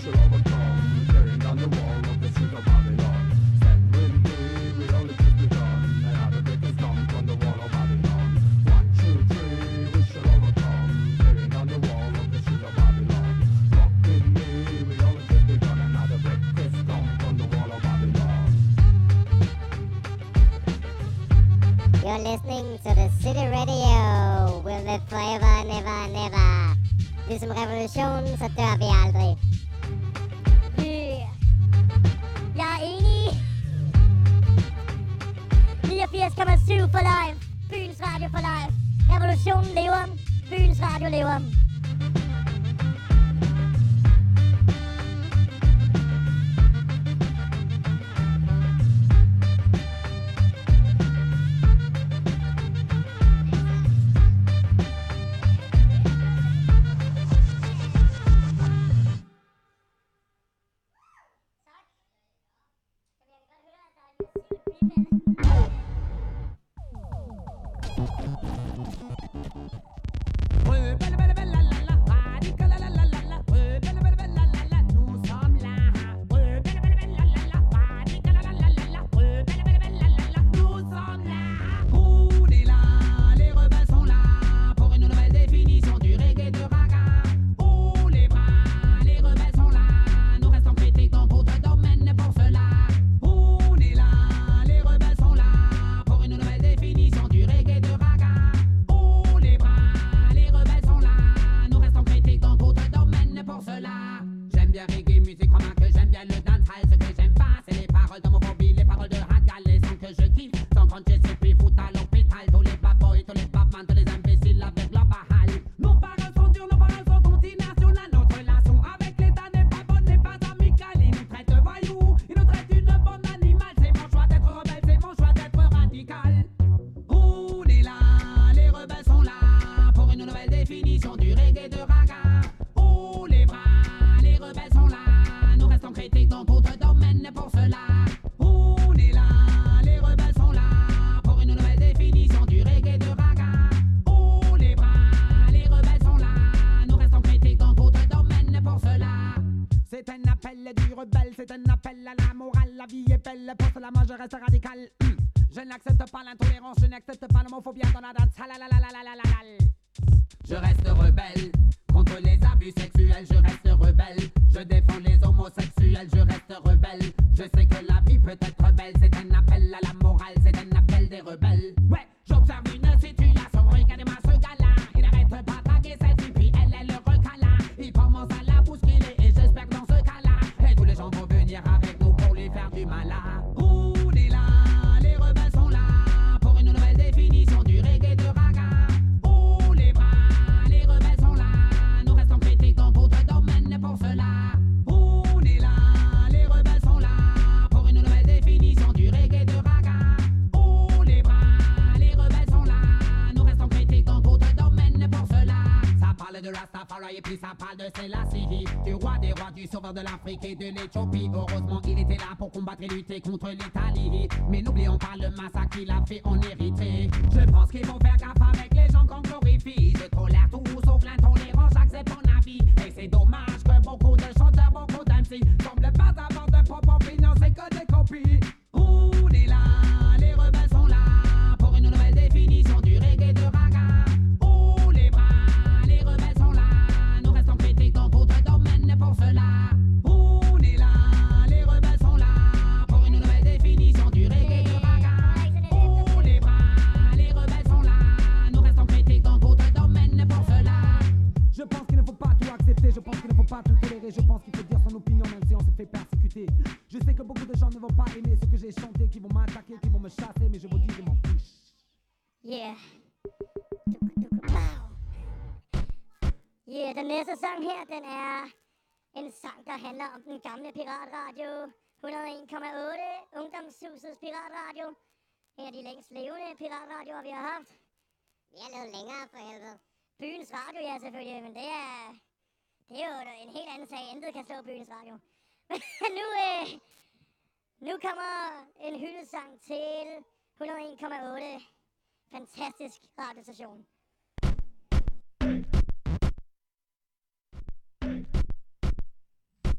Speaker 17: shall overcome. Tearing down the wall of the street of Babylon. Stand with me, we only just begun. Another brick is dumped on the wall of Babylon. 1, 2, 3, we shall overcome. Tearing down the wall of the street of Babylon. Walk with me, we only just begun. Another brick is dumped on the wall of Babylon.
Speaker 2: You're listening to the City Radio. We'll live forever, never, never. Ligesom revolutionen, så dør vi aldrig. Yeah. Jeg er enig. 89,7 for live. Byens Radio for live. Revolutionen lever. Byens Radio lever.
Speaker 20: De l'Afrique et de l'Éthiopie. Heureusement, il était là pour combattre et lutter contre l'Italie. Mais n'oublions pas le massacre qu'il a fait en Érythrée. Je pense qu'il faut faire gaffe avec les gens qu'on glorifie. Je tolère tout sauf l'intolérance, j'accepte mon avis. Et c'est dommage que beaucoup de chanteurs, beaucoup d'MC semblent pas avoir de propre opinion, c'est que des copies. On est là, les rebelles sont là pour une nouvelle définition du reggae et de raga. Oh les bras, les rebelles sont là. Nous restons critiques dans d'autres domaines pour cela.
Speaker 8: Je pense qu'il ne faut pas tout tolérer, je pense qu'il faut dire son opinion même si on se fait persécuter. Je sais que beaucoup de gens ne vont pas aimer ce que j'ai chanté, qui vont m'attaquer, qui vont me chasser, mais je vous dis, je m'en fiche.
Speaker 2: Yeah. Yeah, den næste sang her, den er en sang, der handler om den gamle piratradio. 101,8, Ungdomshusets piratradio. En af de længst levende piratradioer, vi har haft. Vi har lavet længere, for helvede. Byens Radio, ja selvfølgelig, men det er jo en helt anden sag. Intet kan slå Byens Radio. Nu kommer en hyldesang til 101,8. Fantastisk radiostation.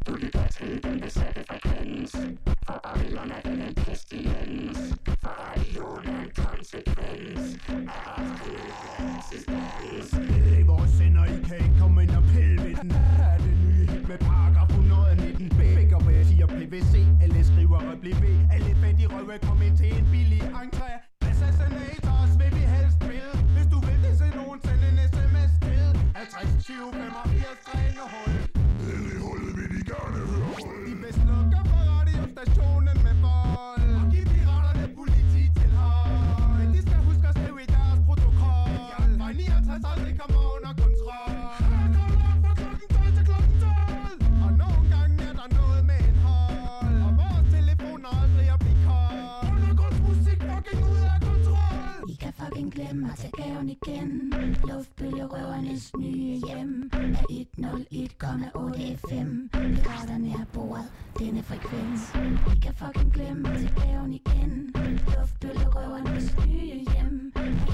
Speaker 17: Du lytter til den besatte frekvens. For Babylon er den en pestilens. For radioen er en konsekvens af oprindelige eksistens.
Speaker 13: Vores sender, I kan ikke komme ind og pille ved den. Er det nye hit med paragraf 119. Begge ved siger PVC, alle skriver bliv. Alle fattige røve kom ind til en billig entré. Assassinators vil vi helst spille. Hvis du vil det, så nogen send en sms til 50 20 85 hold.
Speaker 17: Nede i hullet vil de gerne høre hold.
Speaker 13: De vil slukke for radiostationen med vold. Og giv piraterne polititilhold. Men de skal huske at skrive i deres protokol. Fra 69 aldrig kommer under kontrol. Her kommer op fra klokken 12 til klokken 12. Og nogle gange er der noget med en hold. Og vores telefoner aldrig at blive kold. Undergrundsmusik fucking ud af kontrol.
Speaker 21: I kan fucking glemme at tage gaven igen. Luftbølgerøvernes nye hjem er 101,8 FM. Piraterne er bordet, denne frekvens. I kan fucking glemme at tage gaven igen. Luftbølgerøvernes nye hjem er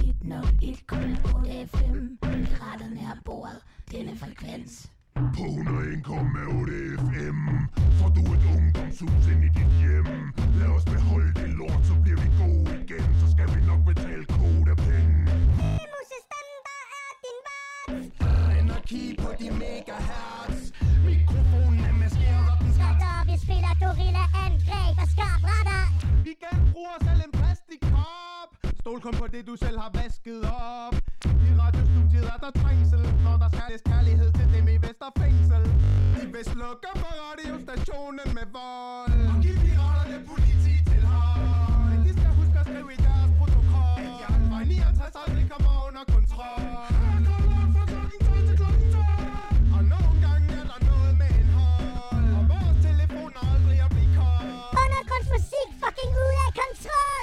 Speaker 21: 101,8 FM. Piraterne er bordet, denne frekvens.
Speaker 17: På 101,8 FM får du et ungdomshus ind i dit hjem. Lad os beholde det lort, så bliver vi gode igen. Så skal vi nok betale kodapenge.
Speaker 2: Musestandard er din vart.
Speaker 13: Energi på de megahertz. Mikrofonen er maskeret, og den skal.
Speaker 2: Vi spiller gorilla-angreb og skarpretter.
Speaker 13: Vi genbruger selv en plastikkop. Stol kun på det, du selv har vasket op. I radiostudiet er der trængsel, når der skales kærlighed til dem i Vesterfængsel. De vil slukke for radiostationen med vold. Og giv piraterne polititilhold. Men de skal huske at skrive i deres protokol. At jeg fra 69 aldrig kommer under kontrol. Her kommer op fra klokken 12 til klokken 12. Og nogle gange er der noget med en hold. Og vores telefoner aldrig at blive kold.
Speaker 2: Undergrundsmusik fucking ud af kontrol.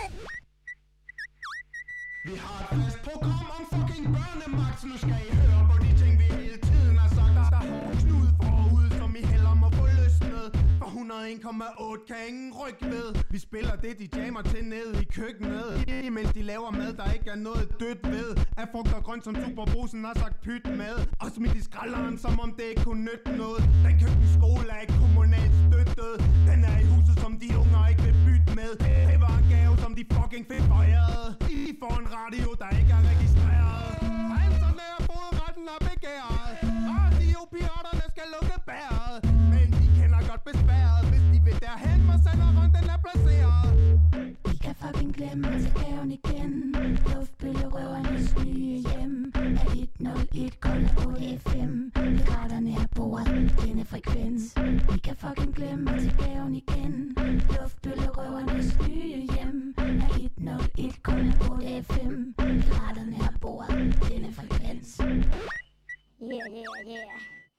Speaker 13: Vi har et fast program om fucking børnemagt, så nu skal I høre på de ting, vi hele tiden har sagt. Der har knud forud, som I heller må få løsnet. For 101,8 kan ingen rykke ved. Vi spiller det, de jammer til nede i køkkenet. Imens de laver mad, der ikke er noget dødt ved. Af frugt og grønt, som Superbrusen har sagt pyt med. Og smidt i skralderen, som om det ikke kunne nytte noget. Den køkkenskole er ikke kommunalt støttet. Den er i huset, som de unger ikke vil bytte med. Det var en gave, som de fucking fik foræret. I får en radio, der ikke er registreret. Anserne er fodretten og begæret. Radiopiraterne skal lukke bæret. Men de kender godt besværet. Hvis de vil derhen, hvor senderøn den er placeret.
Speaker 21: I kan fucking glemme at tage gaven igen. Luftbølgerøvernes nye hjem er 101,8 FM. Piraterne er bordet, denne frekvens. I kan fucking glemme at tage gaven igen. Luftbølgerøvernes nye hjem er 101,8 FM. Piraterne er bordet, denne frekvens.
Speaker 2: Yeah.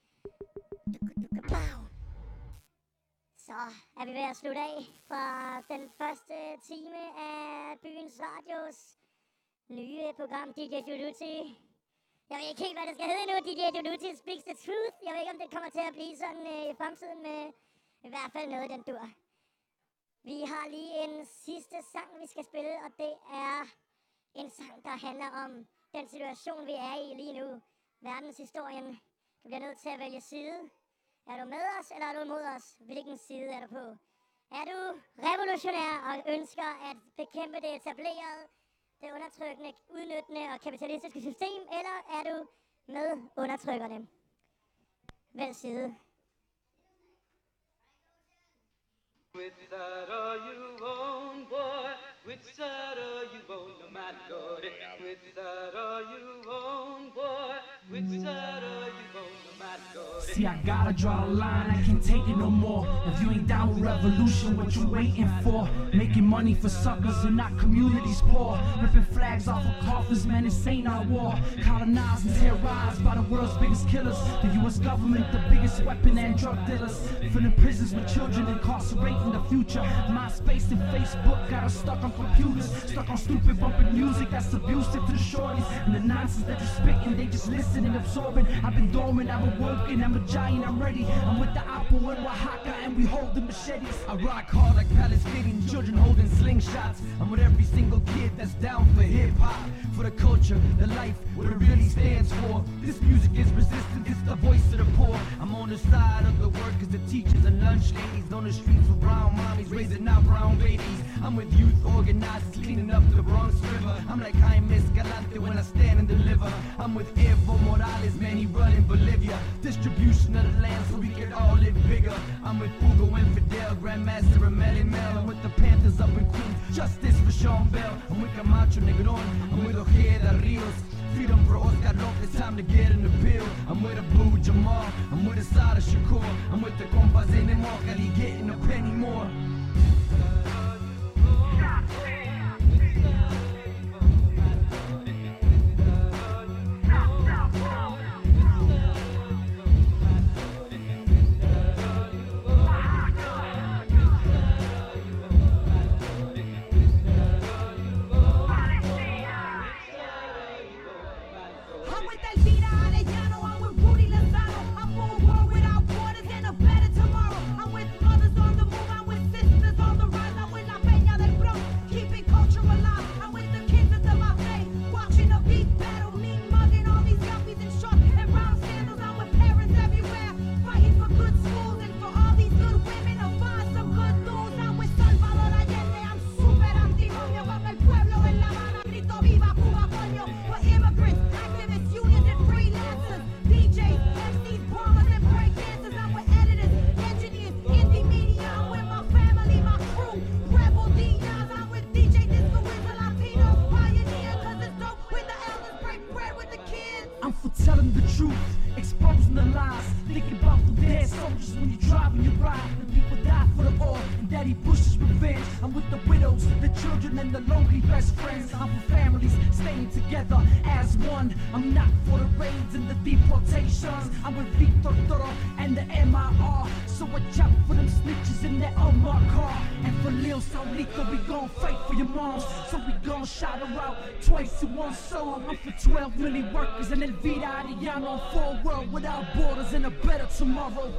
Speaker 2: Så er vi ved at slutte af fra den første time af Byens Radios nye program DJ Julutti. Jeg ved ikke helt, hvad det skal hedde nu, DJ Julutti Speaks the Truth. Jeg ved ikke, om det kommer til at blive sådan i fremtiden, med i hvert fald noget, den dur. Vi har lige en sidste sang, vi skal spille, og det er en sang, der handler om den situation, vi er i lige nu. Verdenshistorien. Du bliver nødt til at vælge side. Er du med os, eller er du imod os? Hvilken side er du på? Er du revolutionær og ønsker at bekæmpe det etablerede, det undertrykkende, udnyttende og kapitalistiske system, eller er du med undertrykkerne? Vælg side.
Speaker 22: Which side are you on, boy? Which side are you on, no matter what? Which side are you on, boy? Which side are you on, no matter what?
Speaker 23: See, I gotta draw a line, I can't take it no more. If you ain't down with revolution, what you waiting for? Making money for suckers and not communities poor. Ripping flags off of coffins, man, this ain't our war. Colonized and terrorized by the world's biggest killers. The US government, the biggest weapon and drug dealers. Filling prisons with children, incarcerating the future. MySpace and Facebook got us stuck on computers. Stuck on stupid bumping music that's abusive to the shorties. And the nonsense that you're spitting, they just listen and absorbing. I've been dormant, I've been working, I'm a giant, I'm ready. I'm with the Apple and Oaxaca and we hold the machetes.
Speaker 24: I rock hard like Palestinian children holding slingshots. I'm
Speaker 23: I'm with every single kid that's down for hip-hop, for the culture, the life, what it really stands for. This music is resistance, it's the voice of the poor. I'm on the side of the workers, the teachers, and lunch ladies. On the streets with brown mommies, raising our brown babies. I'm with youth organizers, cleaning up the Bronx River. I'm like Jaime Escalante when I stand and deliver. I'm with Evo Morales, man, he running Bolivia. Distribution of the land so we can all live bigger. I'm with Hugo and Fidel, Grandmaster and Melly Mel. I'm with the Panthers up in Queens, justice for Sean Bell. I'm with Camacho Negron, I'm with Ojeda Rios. Freedom for Oscar Lopez, time to get in the pill. I'm with Abu Jamal, I'm with Asada Shakur. I'm with the compas in the Mokali, getting a penny more. Twice in one song, I'm for 12 million workers and Elvira Arellano for a world without borders and a better tomorrow.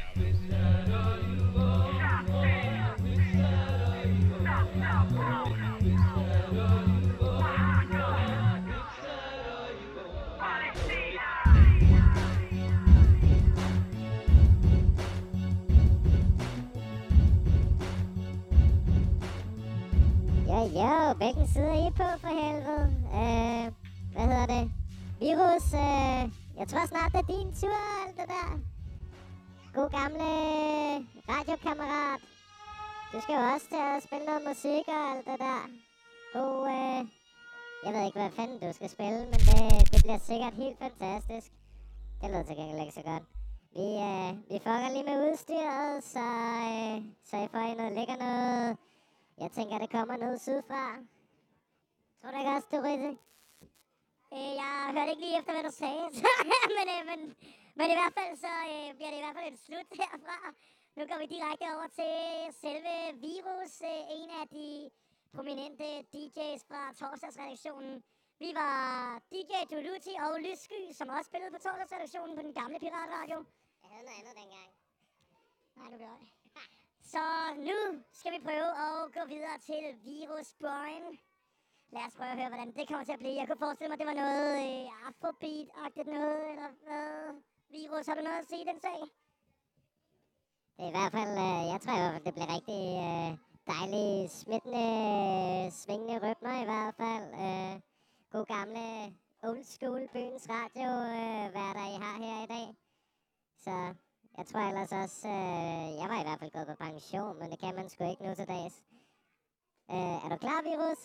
Speaker 2: Jo, hvilken side er I på for helvede? Hvad hedder det? Virus, jeg tror snart det er din tur, alt det der. God gamle radiokammerat. Du skal jo også til at spille noget musik og alt det der. God, jeg ved ikke, hvad fanden du skal spille, men det bliver sikkert helt fantastisk. Det lyder til gengæld ikke så godt. Vi fucker lige med udstyret, så I får noget lækker noget. Jeg tænker, det kommer noget sydfra. Tror du ikke også, du Risse? Jeg hørte ikke lige efter, hvad du sagde. men i hvert fald, så bliver det i hvert fald et slut herfra. Nu går vi direkte over til selve Virus, en af de prominente DJ's fra torsdagsredaktionen. Vi var DJ Duluti og Lyssky, som også spillede på torsdagsredaktionen på den gamle piratradio. Jeg havde noget andet dengang. Nej, nu gør jeg. Så nu skal vi prøve at gå videre til Virus Brian. Lad os prøve at høre, hvordan det kommer til at blive. Jeg kunne forestille mig, at det var noget afrobeat-agtigt noget, eller hvad? Virus, har du noget at sige den sag? Det er i hvert fald, jeg tror i hvert fald, det bliver rigtig dejlige, smittende, svingende rytmer i hvert fald. God gamle old school byens radio, værter I har her i dag. Så jeg tror ellers også, jeg var i hvert fald gået på pension, men det kan man sgu ikke nu til dags. Er du klar, Virus?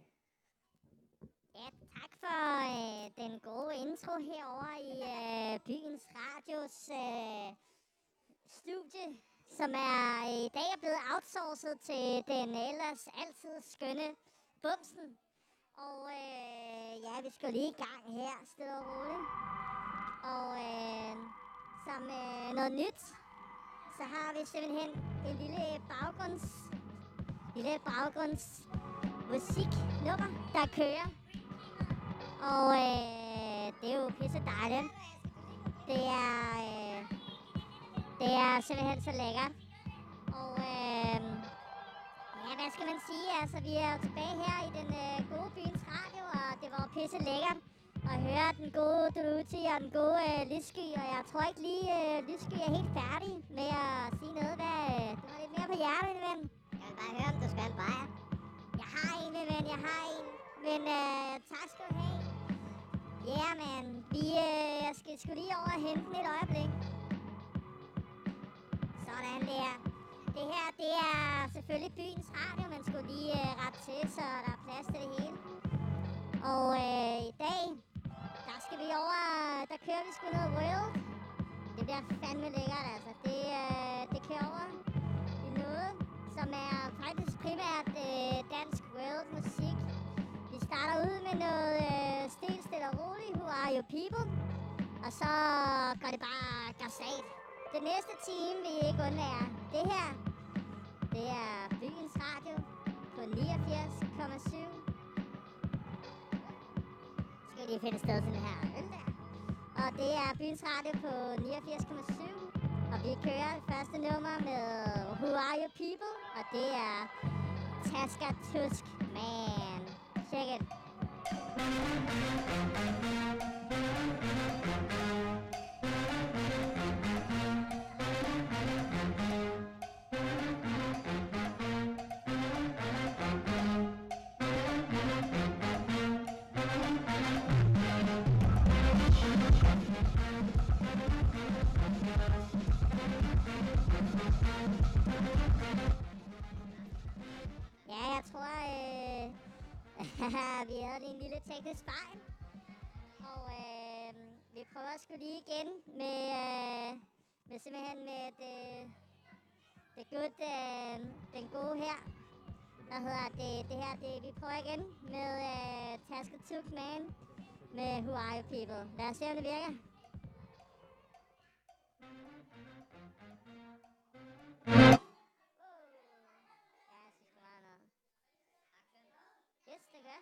Speaker 2: Ja, tak for den gode intro herovre i byens radios studie, som i dag er blevet outsourcet til den ellers altid skønne Bumsen. Og ja, vi skal lige i gang her, stille og roligt. Og som noget nyt, så har vi simpelthen en lille baggrundsmusiknummer, der kører. Og det er jo pisse dejligt. Det er simpelthen så lækkert. Og ja, Hvad skal man sige? Altså, vi er jo tilbage her i den gode byens radio, og det var jo pisse lækkert at høre den gode Druti og den gode Lyssky, og jeg tror ikke lige, Lyssky er helt færdig med at sige noget, hvad du har lidt mere på hjertet, min ven. Jeg vil bare høre, om du skal have en bajer. Jeg har en, min ven, jeg har en. Men tak skal du have. Ja, yeah, man. Vi skal sgu lige over og hente den et øjeblik. Sådan der. Det her, det er selvfølgelig byens radio, man skulle lige rette til, så der er plads til det hele. Og i dag, der skal vi over, der kører vi sgu noget world. Det bliver fandme lækkert, altså. Det kører over i noget, som er faktisk primært dansk world musik. Vi starter ud med noget stille og roligt, Who Are You People? Og så går det bare gassat. Det næste time vil I ikke undvære. Det her, det er byens radio på 89,7. Skal lige finde et sted til den her øl der. Og det er byens radio på 89,7. Og vi kører det første nummer med Who Are You People? Og det er Taska Tusk Man. Check it. Ja, jeg tror, vi havde lige en lille teknisk fejl. Og vi prøver sgu lige igen med simpelthen med den gode her. Hvad hedder det her? Vi prøver igen med Taska Tusk Man med Who Are You People. Lad os se, om det virker. Yes, det gør.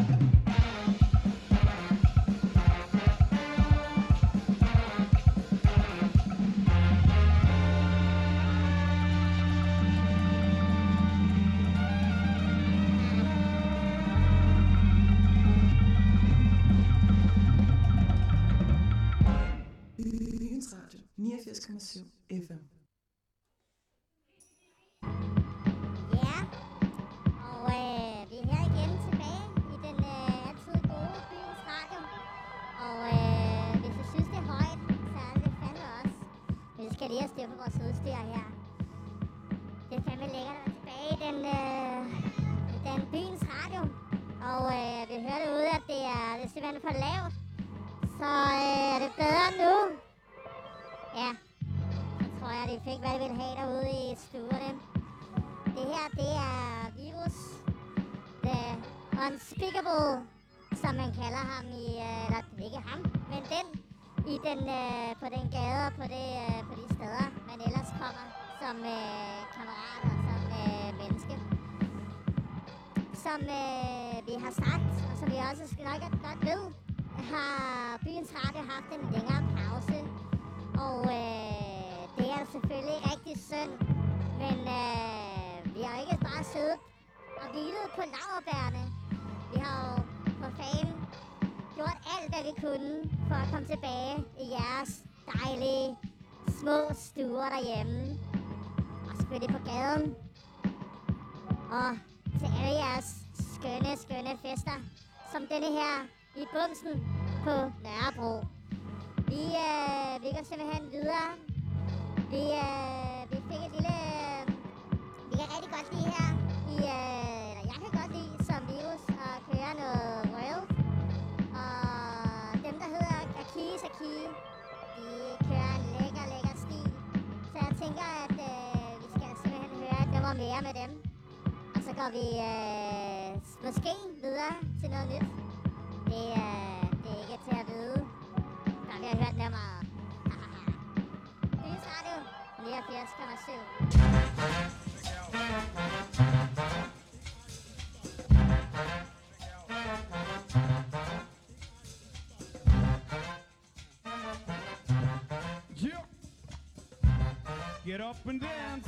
Speaker 1: Byens Radio 89,7 FM.
Speaker 2: Ja, og vi er her igen tilbage i den altid gode Byens Radio. Og hvis du synes, det er højt, så er det fandme også. Men vi skal lige have styr på vores udstyr her. Det er fandme lækkert at være tilbage i den Byens Radio. Og vi hører derude, at det er simpelthen for lavt. Så er det bedre nu. Ja, så tror jeg, de fik, hvad de ville have derude i stuerne. Det her, det er virus. The Unspeakable, som man kalder ham i, eller ikke ham, men den, i den, på den gade og på de steder, man ellers kommer som kammerat og som menneske. Som vi har sagt, og som vi også nok godt ved, har Byens Radio haft en længere pause. Og det er selvfølgelig rigtig synd, men vi har ikke bare siddet og hvilet på laurbærrene. Vi har jo på fanden gjort alt, hvad vi kunne for at komme tilbage i jeres dejlige små stuer derhjemme. Og selvfølgelig på gaden. Og til alle jeres skønne fester, som denne her i Bumsen på Nørrebro. Vi går simpelthen videre. Vi fik et lille... Vi kan rigtig godt lide her eller jeg kan godt lide som virus at køre noget world. Og dem, der hedder Saki, de kører en lækker stil. Så jeg tænker, at vi skal simpelthen høre et nummer mere med dem. Og så går vi måske videre til noget nyt. Det er ikke til at vide. Der vi har hørt nummeret. Byens Radio 89,7.
Speaker 14: Yeah. Get up and dance.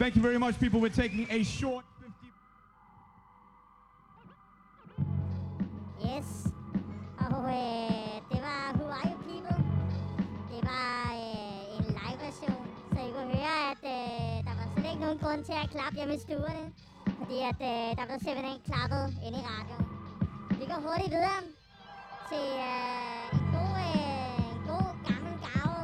Speaker 9: Thank you very much, people. We're taking a short 50...
Speaker 2: Yes. Og det var Who Are You People? Det var en live-version, så I kunne høre, at der var slet ikke nogen grund til at klappe hjemme i stuerne. Fordi at der blev simpelthen klappet inde i radioen. Vi går hurtigt videre til en god gammel gave.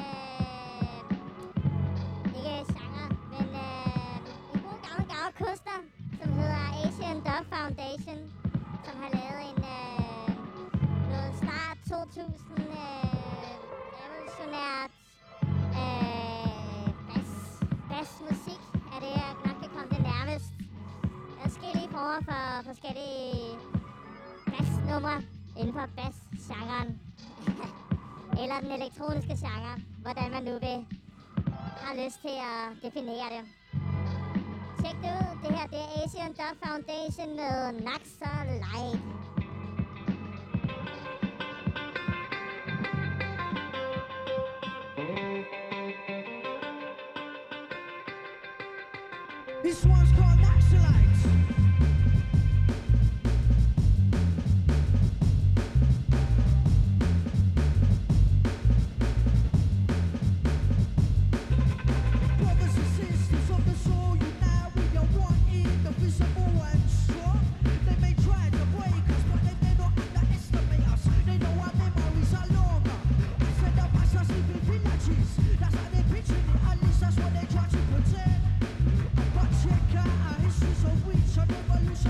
Speaker 2: Ikke genre, men en god gammel gave koster, som hedder Asian Dub Foundation, som har lavet en noget start 2000 revolutionært bassmusik er det, jeg nok kan komme det nærmest. Forskellige former for forskellige bassnumre inden for bassgenren. Eller den elektroniske genre, hvordan man nu har lyst til at definere det. Tjek det ud. Det her det er Asian Dub Foundation med Naxa Light.
Speaker 17: This one's called Naxalites. Brothers and sisters of the soul, unite with your one indivisible and strong. They may try to break us, but they don't underestimate us. They know our memories are longer. I said the masses live in villages. That's how they picture it, at least that's what they try to pretend. But check out our history so rich, our revolution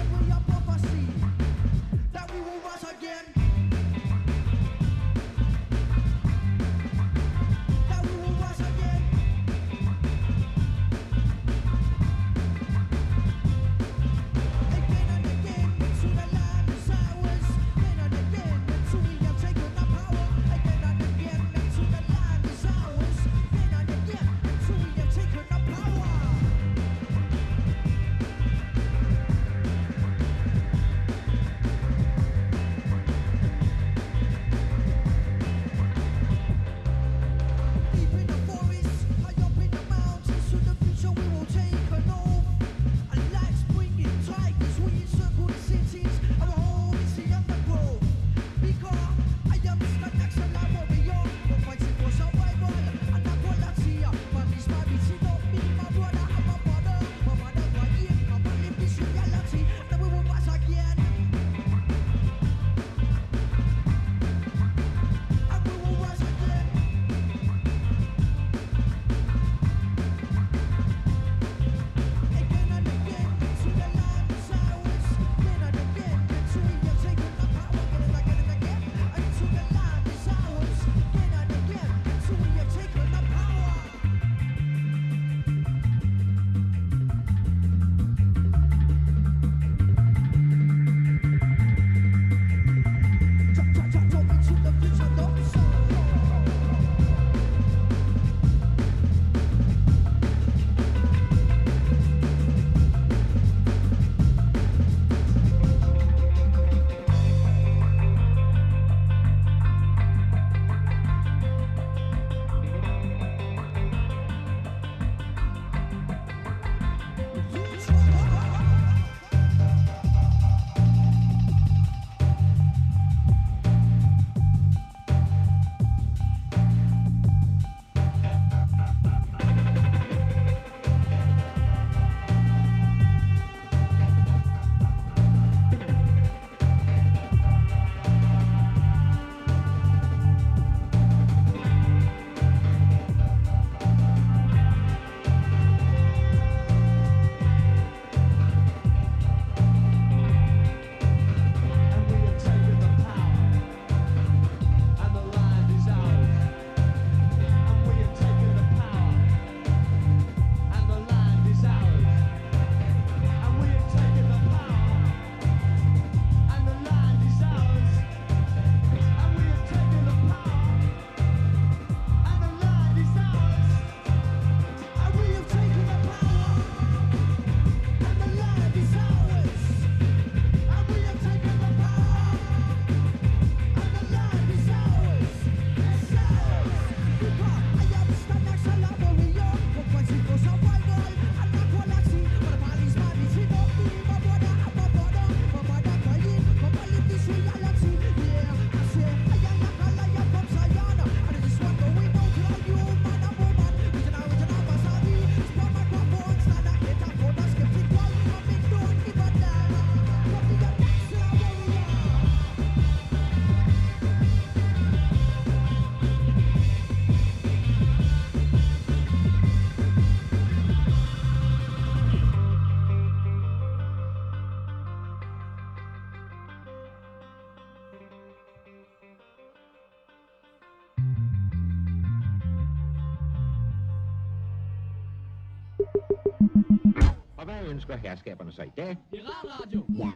Speaker 12: Og hvad ønsker herskaberne så i dag?
Speaker 23: Piratradio.
Speaker 2: Ja.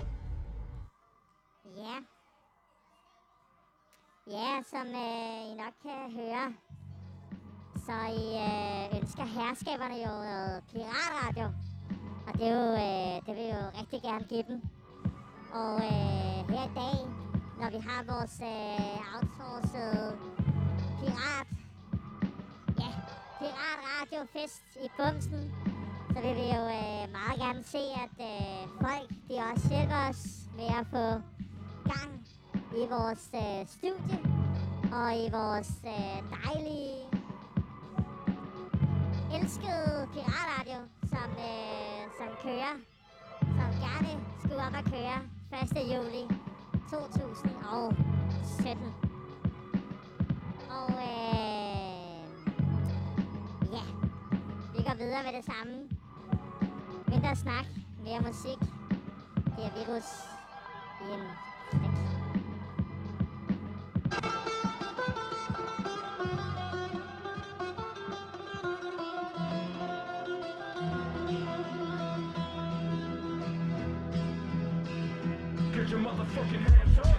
Speaker 2: Ja. Ja, som I nok kan høre, så I ønsker herskaberne jo noget piratradio. Og det er jo, det vil jeg jo rigtig gerne give dem. Og her i dag, når vi har vores outsourcede piratradiofest i Bumsen, så vil vi jo meget gerne se, at folk de også hjælper os med at få gang i vores studie og i vores dejlige, elskede piratradio, som kører, som gerne skulle op at køre 1. juli 2017. Og ja, vi går videre med det samme. Mindre snak, mere musik. Det er Virus i en flæk.
Speaker 10: Get your motherfucking hands up.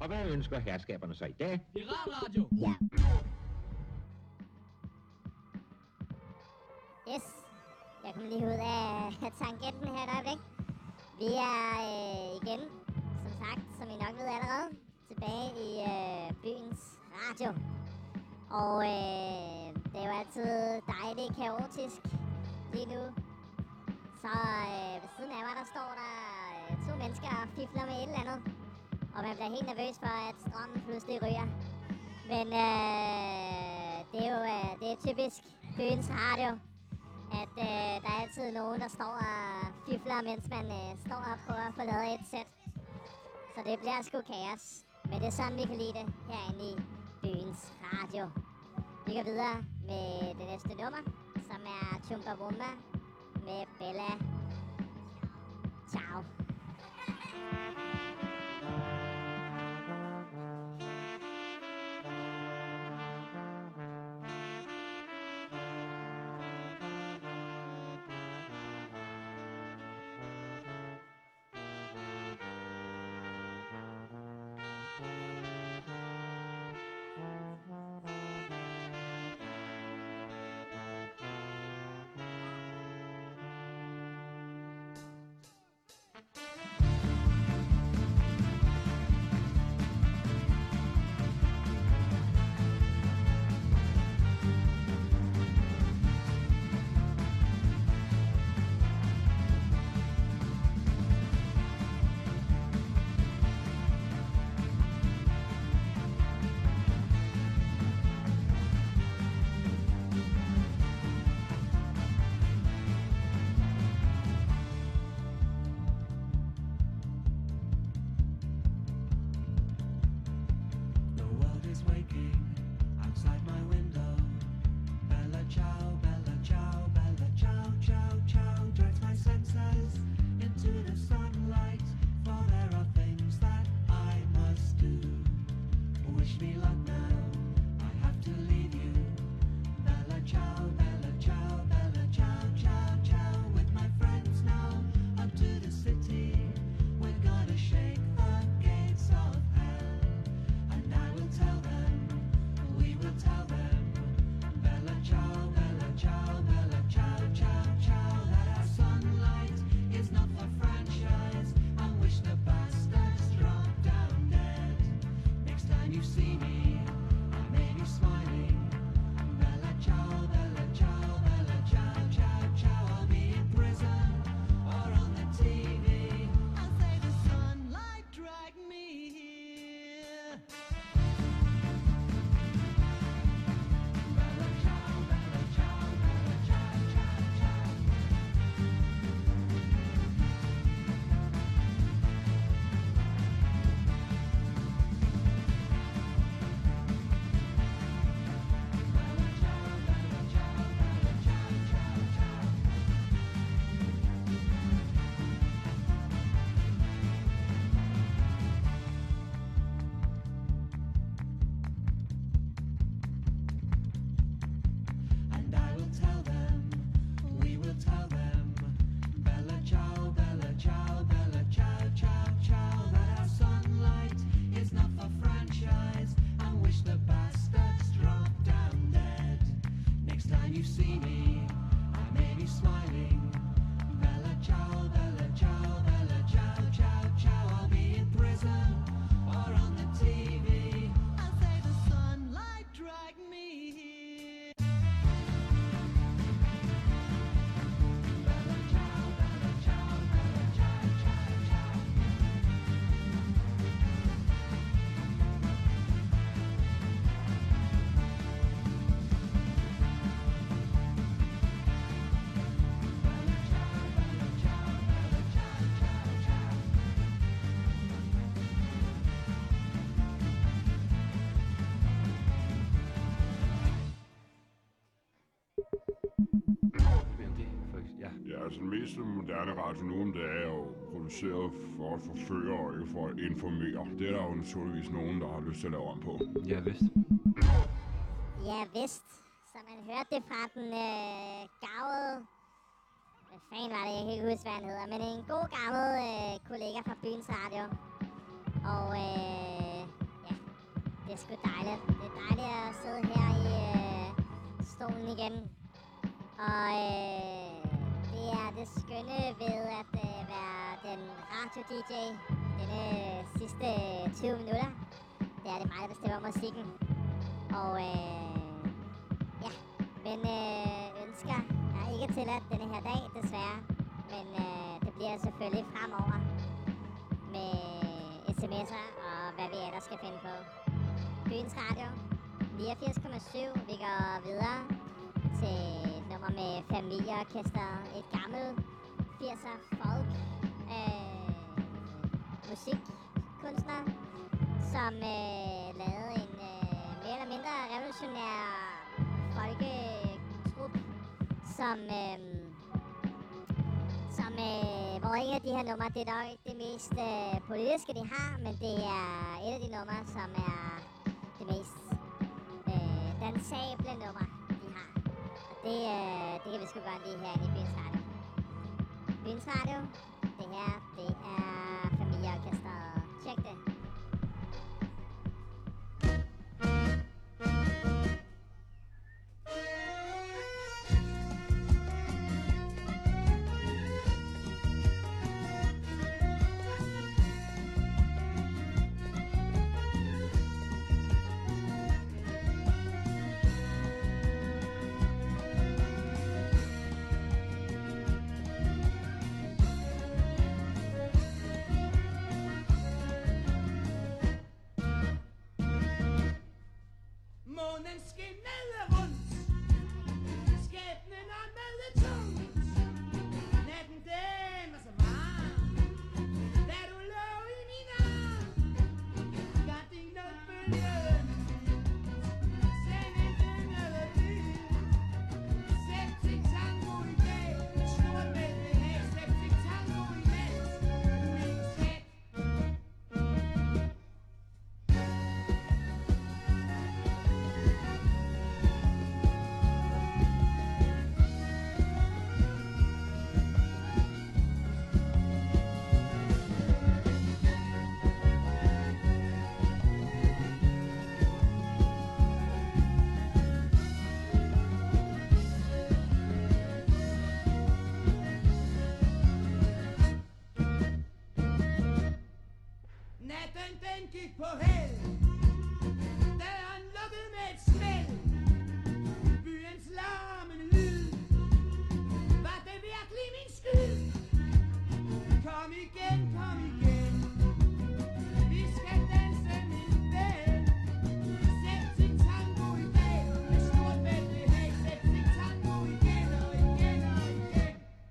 Speaker 12: Og hvad ønsker herskaberne så i dag?
Speaker 23: Piratradio!
Speaker 2: Ja. Yes. Jeg kommer lige ud af tangenten her et øjeblik. Vi er igen, som sagt, som I nok ved allerede, tilbage i byens radio. Og det er jo altid dejligt kaotisk lige nu. Så ved siden af mig, der står der 2 mennesker og fifler med et eller andet. Og man bliver helt nervøs for, at strømmen pludselig ryger. Men det er jo det er typisk byens radio, at der er altid nogen, der står og fifler, mens man står og prøver at få lavet et sæt. Så det bliver sgu kaos. Men det er sådan, vi kan lide det herinde i byens radio. Vi går videre med det næste nummer, som er Chumbawamba med Bella. Ciao.
Speaker 18: Altså den mest moderne radio nu om dagen er jo produceret for at forføre og ikke for at informere. Det er der jo naturligvis nogen, der har lyst til at lave om på.
Speaker 3: Ja, vist.
Speaker 2: Ja, vist. Så man hørte det fra den gavede... Hvad fanden var det? Jeg kan ikke huske, hvad han hedder. Men en god gammel kollega fra byens radio. Og igen. Og det er det skønne ved at være den radio-DJ denne sidste 20 minutter. Det er det mig, der bestemmer musikken. Og ja, men ønsker er ikke tilladt denne her dag, desværre. Men det bliver selvfølgelig fremover med sms'er og hvad vi ellers skal finde på. Byens Radio 89,7. Vi går videre til et nummer med Familieorkester. Et gammelt 80'er folk musikkunstner, som lavede en mere eller mindre revolutionær folketrup, hvor en af de her numre, det er nok ikke det mest politiske, de har, men det er et af de numre, som er det mest dansable nummer, de har. Og det kan vi sgu godt lide herinde i Byens Radio. Byens Radio, det her, det er Familieorkestret. Tjek det.
Speaker 17: Månen skinnede rundt, skæbnen åndede tungt. Natten den var så varm, da du lå i min arm. Gardiner bølgede send en melodi. Septic tango i dag, stort mælkehæk. Septic tango i nat, min skat. Natten den gik på held, døren lukkede med et smæld. Byens larmende lyd, var det virkelig min skyld? Kom igen, kom igen, vi skal danse min ven. Septic tango i dag, med stort mælkehæk. Septic tango igen og igen og igen.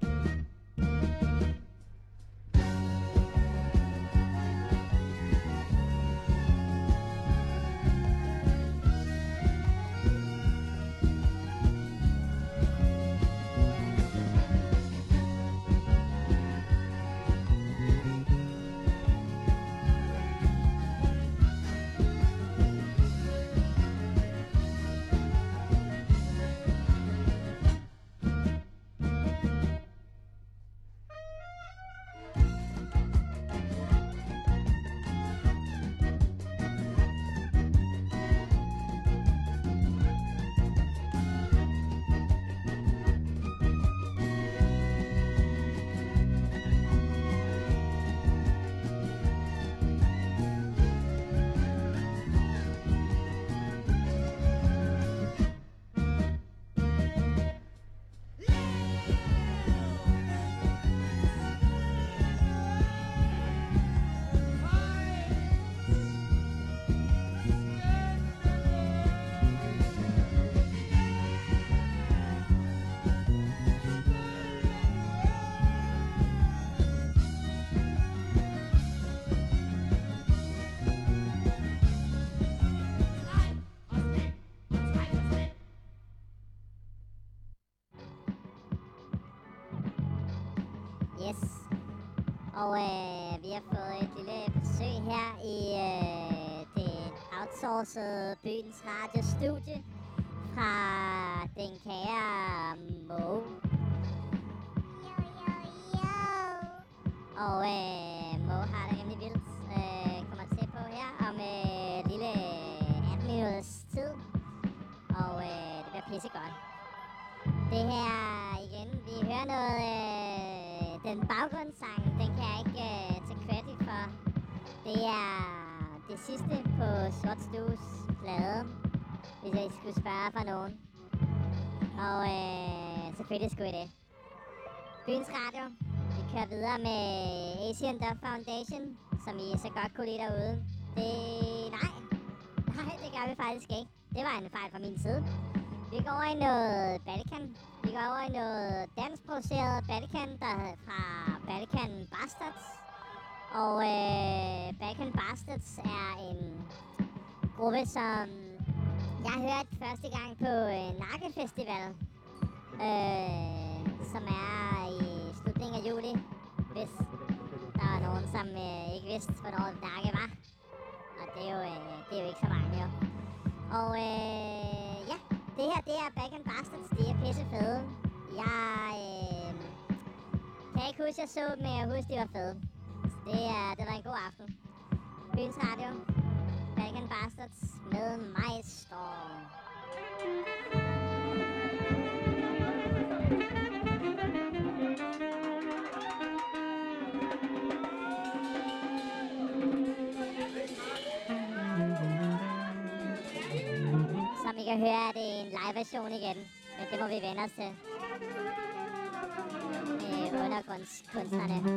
Speaker 17: Yes. Og vi har fået et lille besøg her i det outsourcede Byens Radio studie fra den kære Mo. Og Mo har det rimelig vildt. Kommer til på her om lille 18 minutters tid. Og det bliver pissegodt.
Speaker 2: den baggrundssang, den kan jeg ikke tage credit for. Det er det sidste på Sort Stues plade, hvis jeg skulle spørge fra nogen. Og selvfølgelig skulle I det. Byens Radio. Vi kører videre med Asian Dub Foundation, som I så godt kunne lide derude. Nej, det gør vi faktisk ikke. Det var en fejl fra min side. Vi går over i noget Balkan. Vi går over i noget danskproduceret Balkan, der fra Balkan Bastards. Og Balkan Bastards er en gruppe, som jeg hørte første gang på Nakke-festival, som er i slutningen af juli, hvis der er nogen, som ikke vidste, hvornår Nakke var. Og det er jo ikke så mange, jo. Og ja, det her, det er Balkan Bastards. De er pisse fede. Jeg kan ikke huske, jeg så dem, men jeg husker, de var fede. Så det var en god aften. Byens Radio. Balkan Bastards med Majstorm. Som I kan høre, er det en live-version igen, men det må vi vende os til. Med undergrundskunstnerne.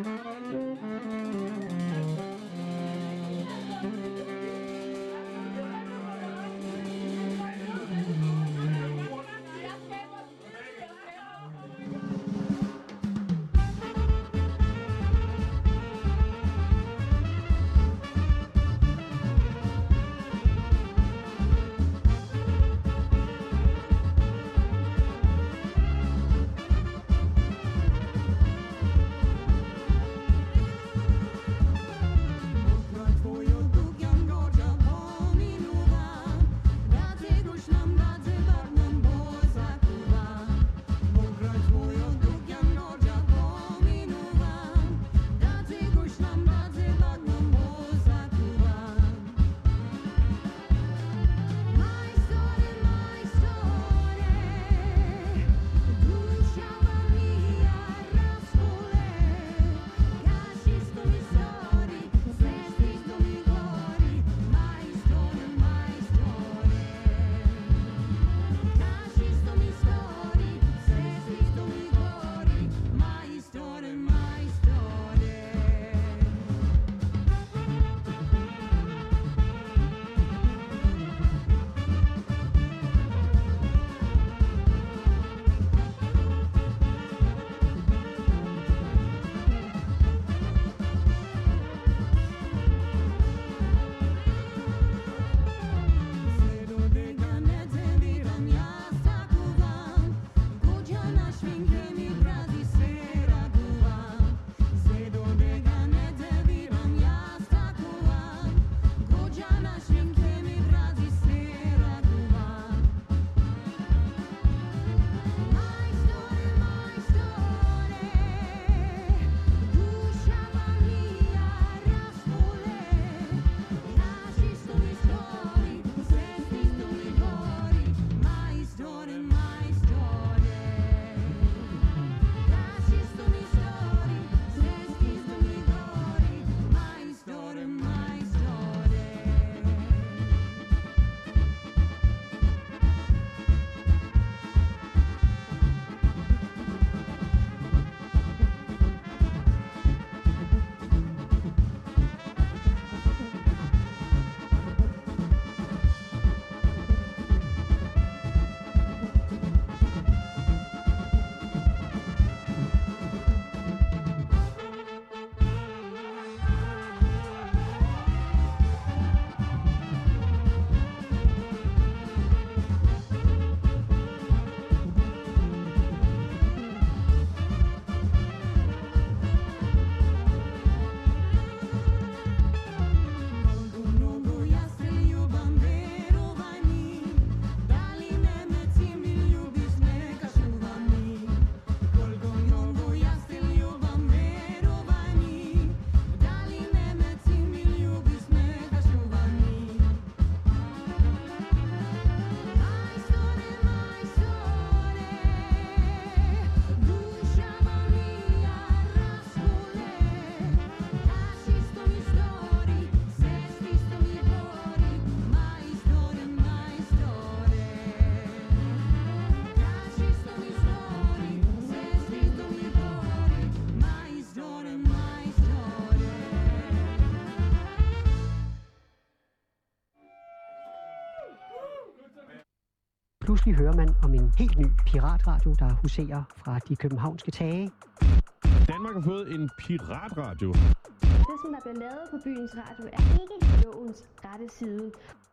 Speaker 3: Pludselig hører man om en helt ny piratradio, der huserer fra de københavnske tage.
Speaker 4: Danmark har fået en piratradio.
Speaker 7: Det, som der bliver lavet på byens radio, er ikke lovens rette side.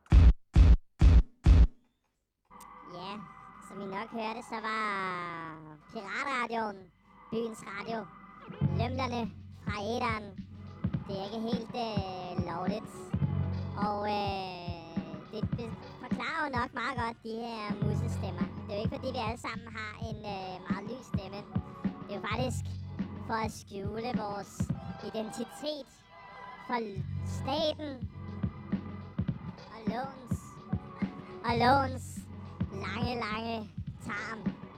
Speaker 2: Ja, som I nok hørte, så var piratradioen byens radio. Lømlerne fra æteren. Det er ikke helt lovligt. Og det forklarer jo nok meget godt de her musestemmer. Det er jo ikke fordi vi alle sammen har en meget lys stemme. Det er jo faktisk for at skjule vores identitet for staten og lovens lange tarm.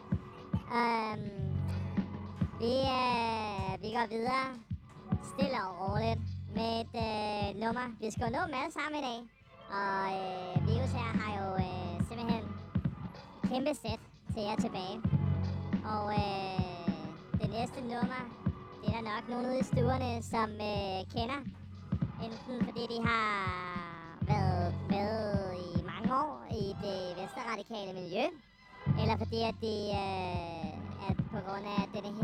Speaker 2: Vi går videre stille og roligt med et nummer. Vi skal jo nå dem alle sammen i dag. Og Virus her har jo simpelthen et kæmpe sæt til jer tilbage. Og det næste nummer, det er der nok nogen ude i stuerne, som kender. Enten fordi de har været med i mange år i det venstreradikale miljø, eller fordi at de at på grund af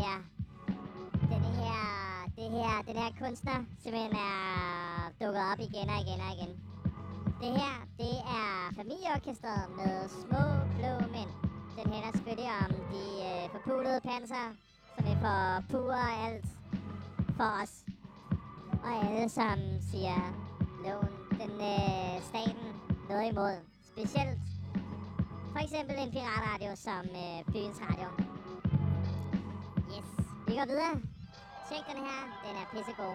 Speaker 2: den her kunstner simpelthen er dukket op igen og igen. Det her, det er familieorkestret med Små Blå Mænd. Den handler selvfølgelig om de forpulede panser, som vi forpuder alt for os. Og alle, som siger loven, staten noget imod. Specielt for eksempel en piratradio som byens radio. Yes, vi går videre. Tjek den her, den er pissegod.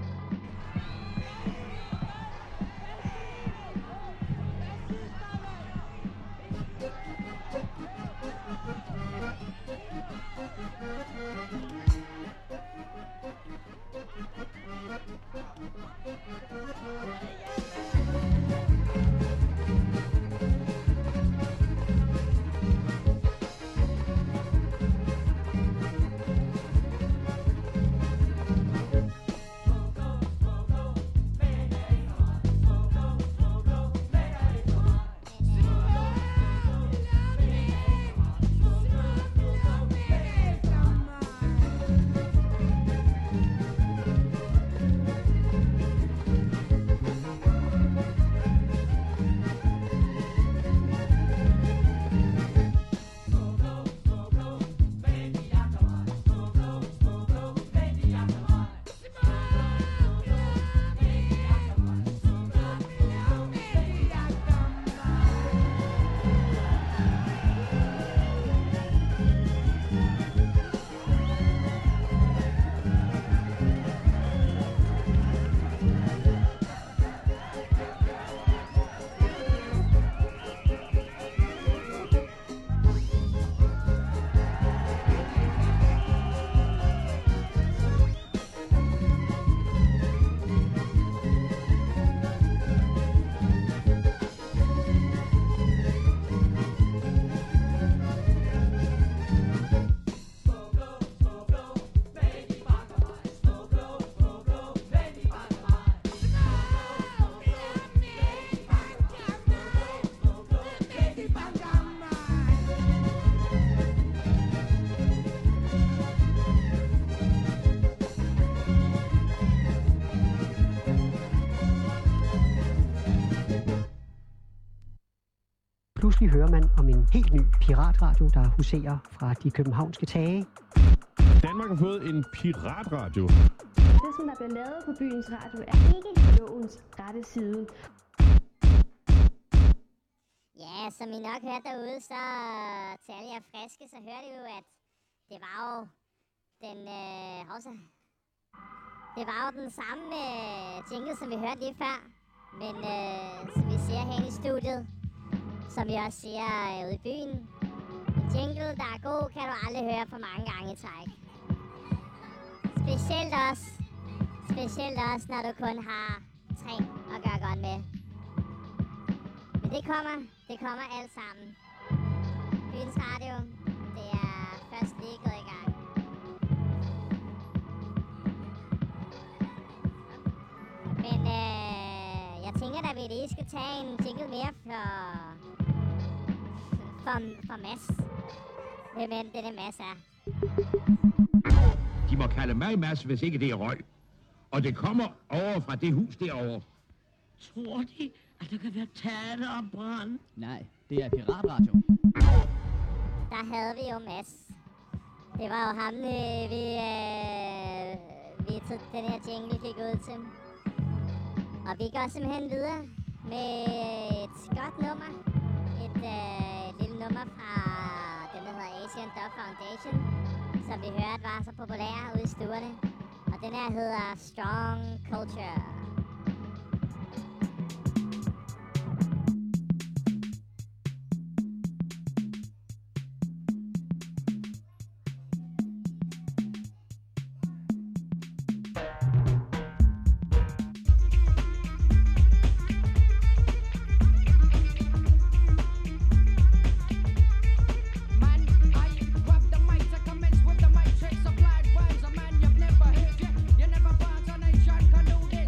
Speaker 3: Pludselig hører man om en helt ny piratradio, der huserer fra de københavnske tage.
Speaker 4: Danmark har fået en piratradio.
Speaker 7: Det, som der bliver lavet på byens radio, er ikke lovens rette side.
Speaker 2: Ja, som I nok hørte derude, så til alle jer friske, så hørte I jo, at det var jo den samme jingle, som vi hørte lige før. Men som vi ser her i studiet, som vi også siger ude i byen, en jingle, der er god, kan du aldrig høre for mange gange i træk. Specielt også, når du kun har 3 at gøre godt med. Men det kommer alt sammen. Byens radio, det er først lige gået i gang. Men jeg tænker, at vi lige skal tage en jingle mere for Mads. Hvem end det Mads er.
Speaker 12: De må kalde mig Mads, hvis ikke det er røg. Og det kommer over fra det hus derovre.
Speaker 6: Tror de, at der kan være tale om brand?
Speaker 11: Nej, det er piratradio.
Speaker 2: Der havde vi jo Mads. Det var jo ham, vi tog den her jingle fik ud til. Og vi går simpelthen videre med et godt nummer. Et lille nummer fra den, der hedder Asian Dub Foundation, som vi hørte var så populær ude i stuerne. Og den her hedder Strong Culture.
Speaker 20: Supply rhymes, a man you've never heard yet. You never found a nation can do this.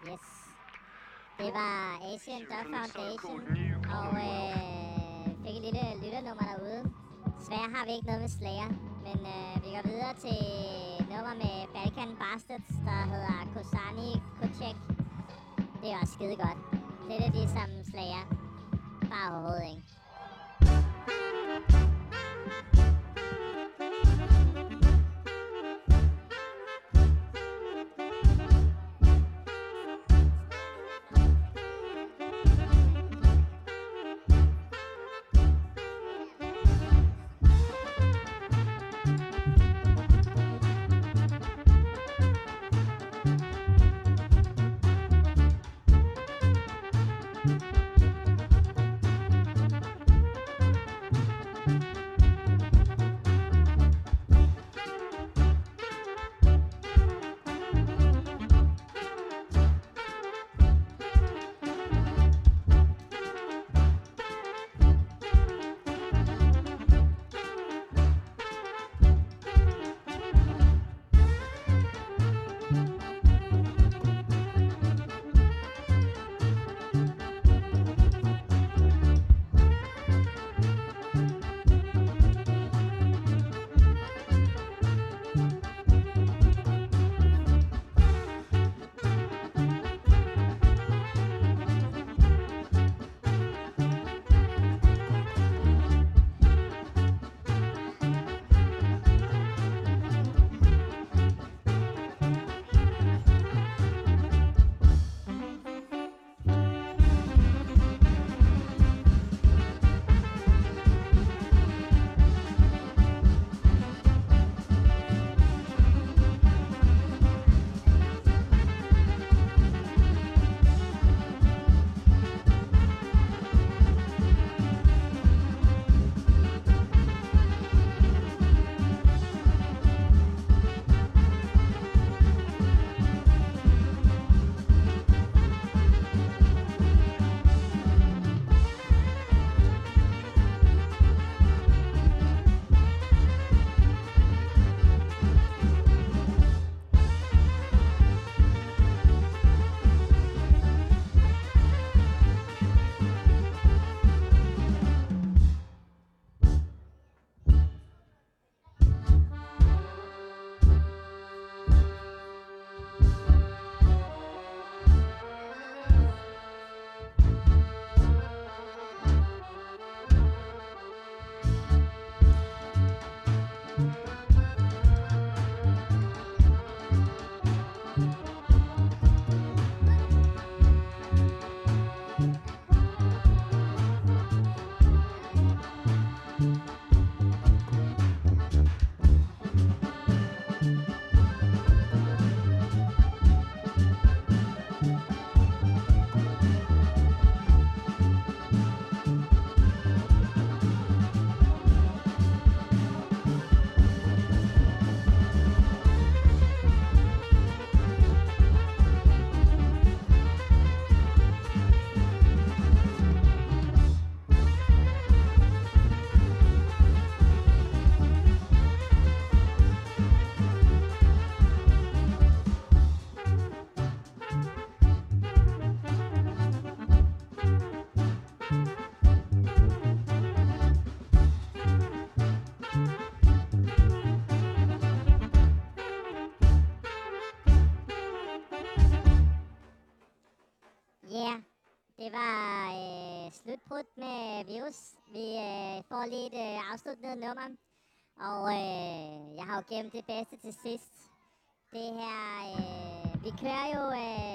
Speaker 2: Yes. Det var Asian Dog Foundation, og fik et lille lytternummer derude. Desværre har vi ikke noget med Slayer, men vi går videre til nummer med Balkan Bastards, der hedder Kosani Kocek. Det er også skide godt. Det er det som Slayer. Bare overhovedet ikke. Det var slutbrud med Virus. Vi får lige et afsluttende nummer. Og jeg har jo gemt det bedste til sidst. Det her, vi kører jo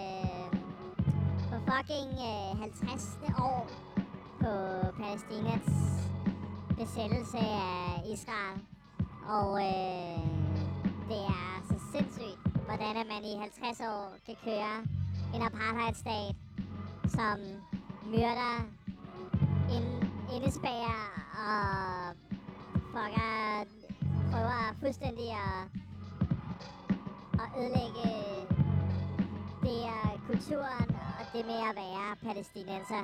Speaker 2: på fucking 50. år på Palæstinas besættelse af Israel. Og det er så sindssygt, hvordan man i 50 år kan køre en apartheidstat, som myrder, indespærrer og prøver fuldstændig at ødelægge det er kulturen og det med at være palæstinenser.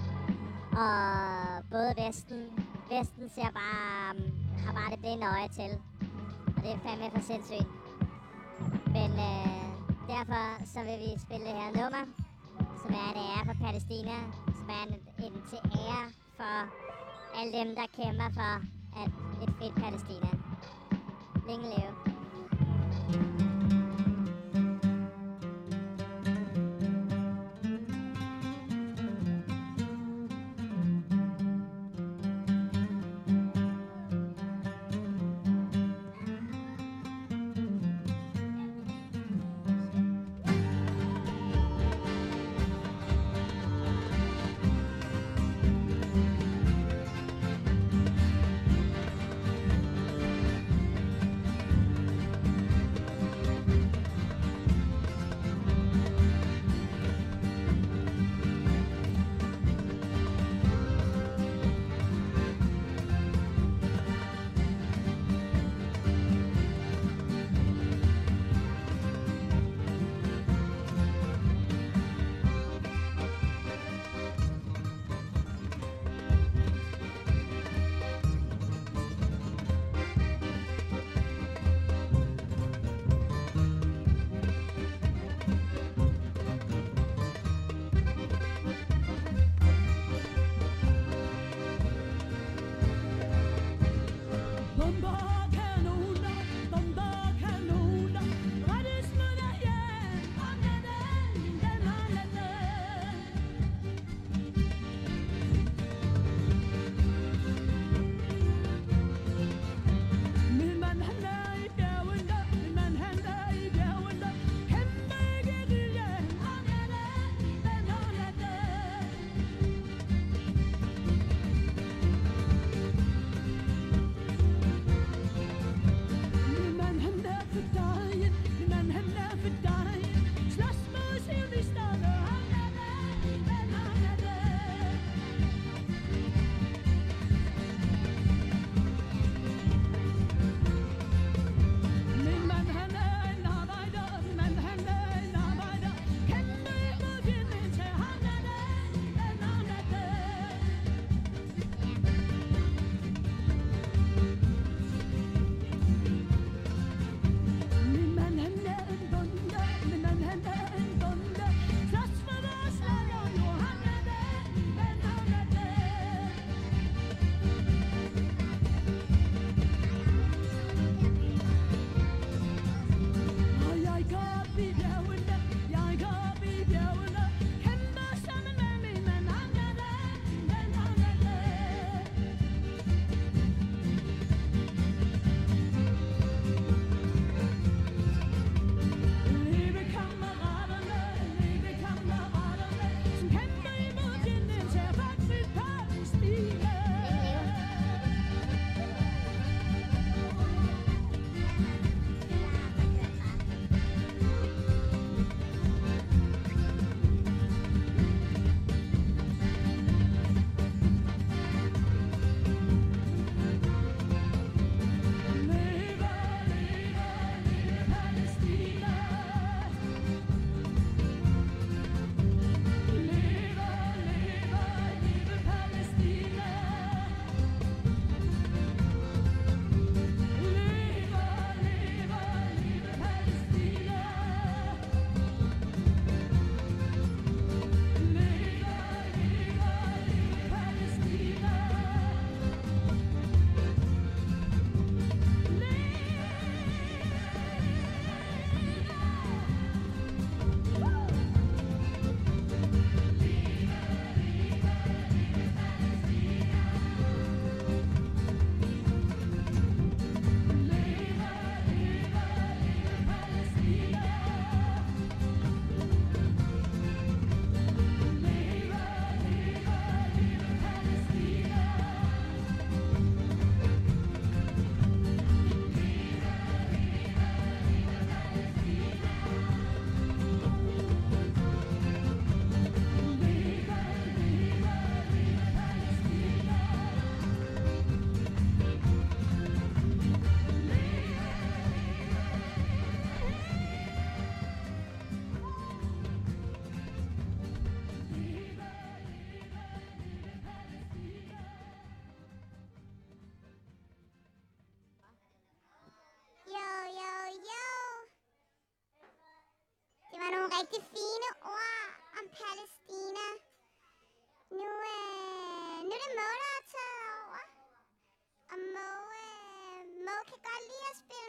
Speaker 2: Og både Vesten ser bare, har bare det blinde øje til. Og det er fandme for sindssygt. Men derfor så vil vi spille det her nummer, som er en ære for Palæstina, som er en til ære for alle dem, der kæmper for et frit Palæstina. Længe leve.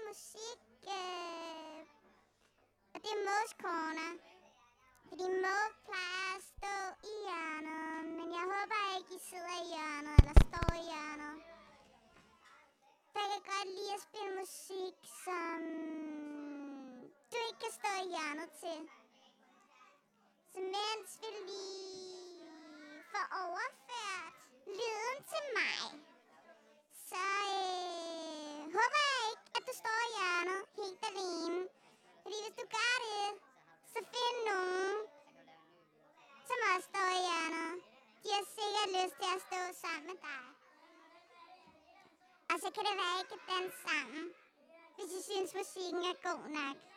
Speaker 2: musik, og det er Mås Corner. Fordi Må plejer at stå i hjørnet, men jeg håber ikke, I sidder i hjørnet eller står i hjørnet. For jeg kan godt lide at spille musik, som du ikke kan stå i hjørnet til. Så mens vi lige får overført lyden til mig, så håber jeg ikke, at du står i hjørnet helt alene. Fordi hvis du gør det, så find nogen, som også står i hjørnet. De har sikkert lyst til at stå sammen med dig. Og så kan det være, at I kan danse sammen, hvis I synes, musikken er god nok.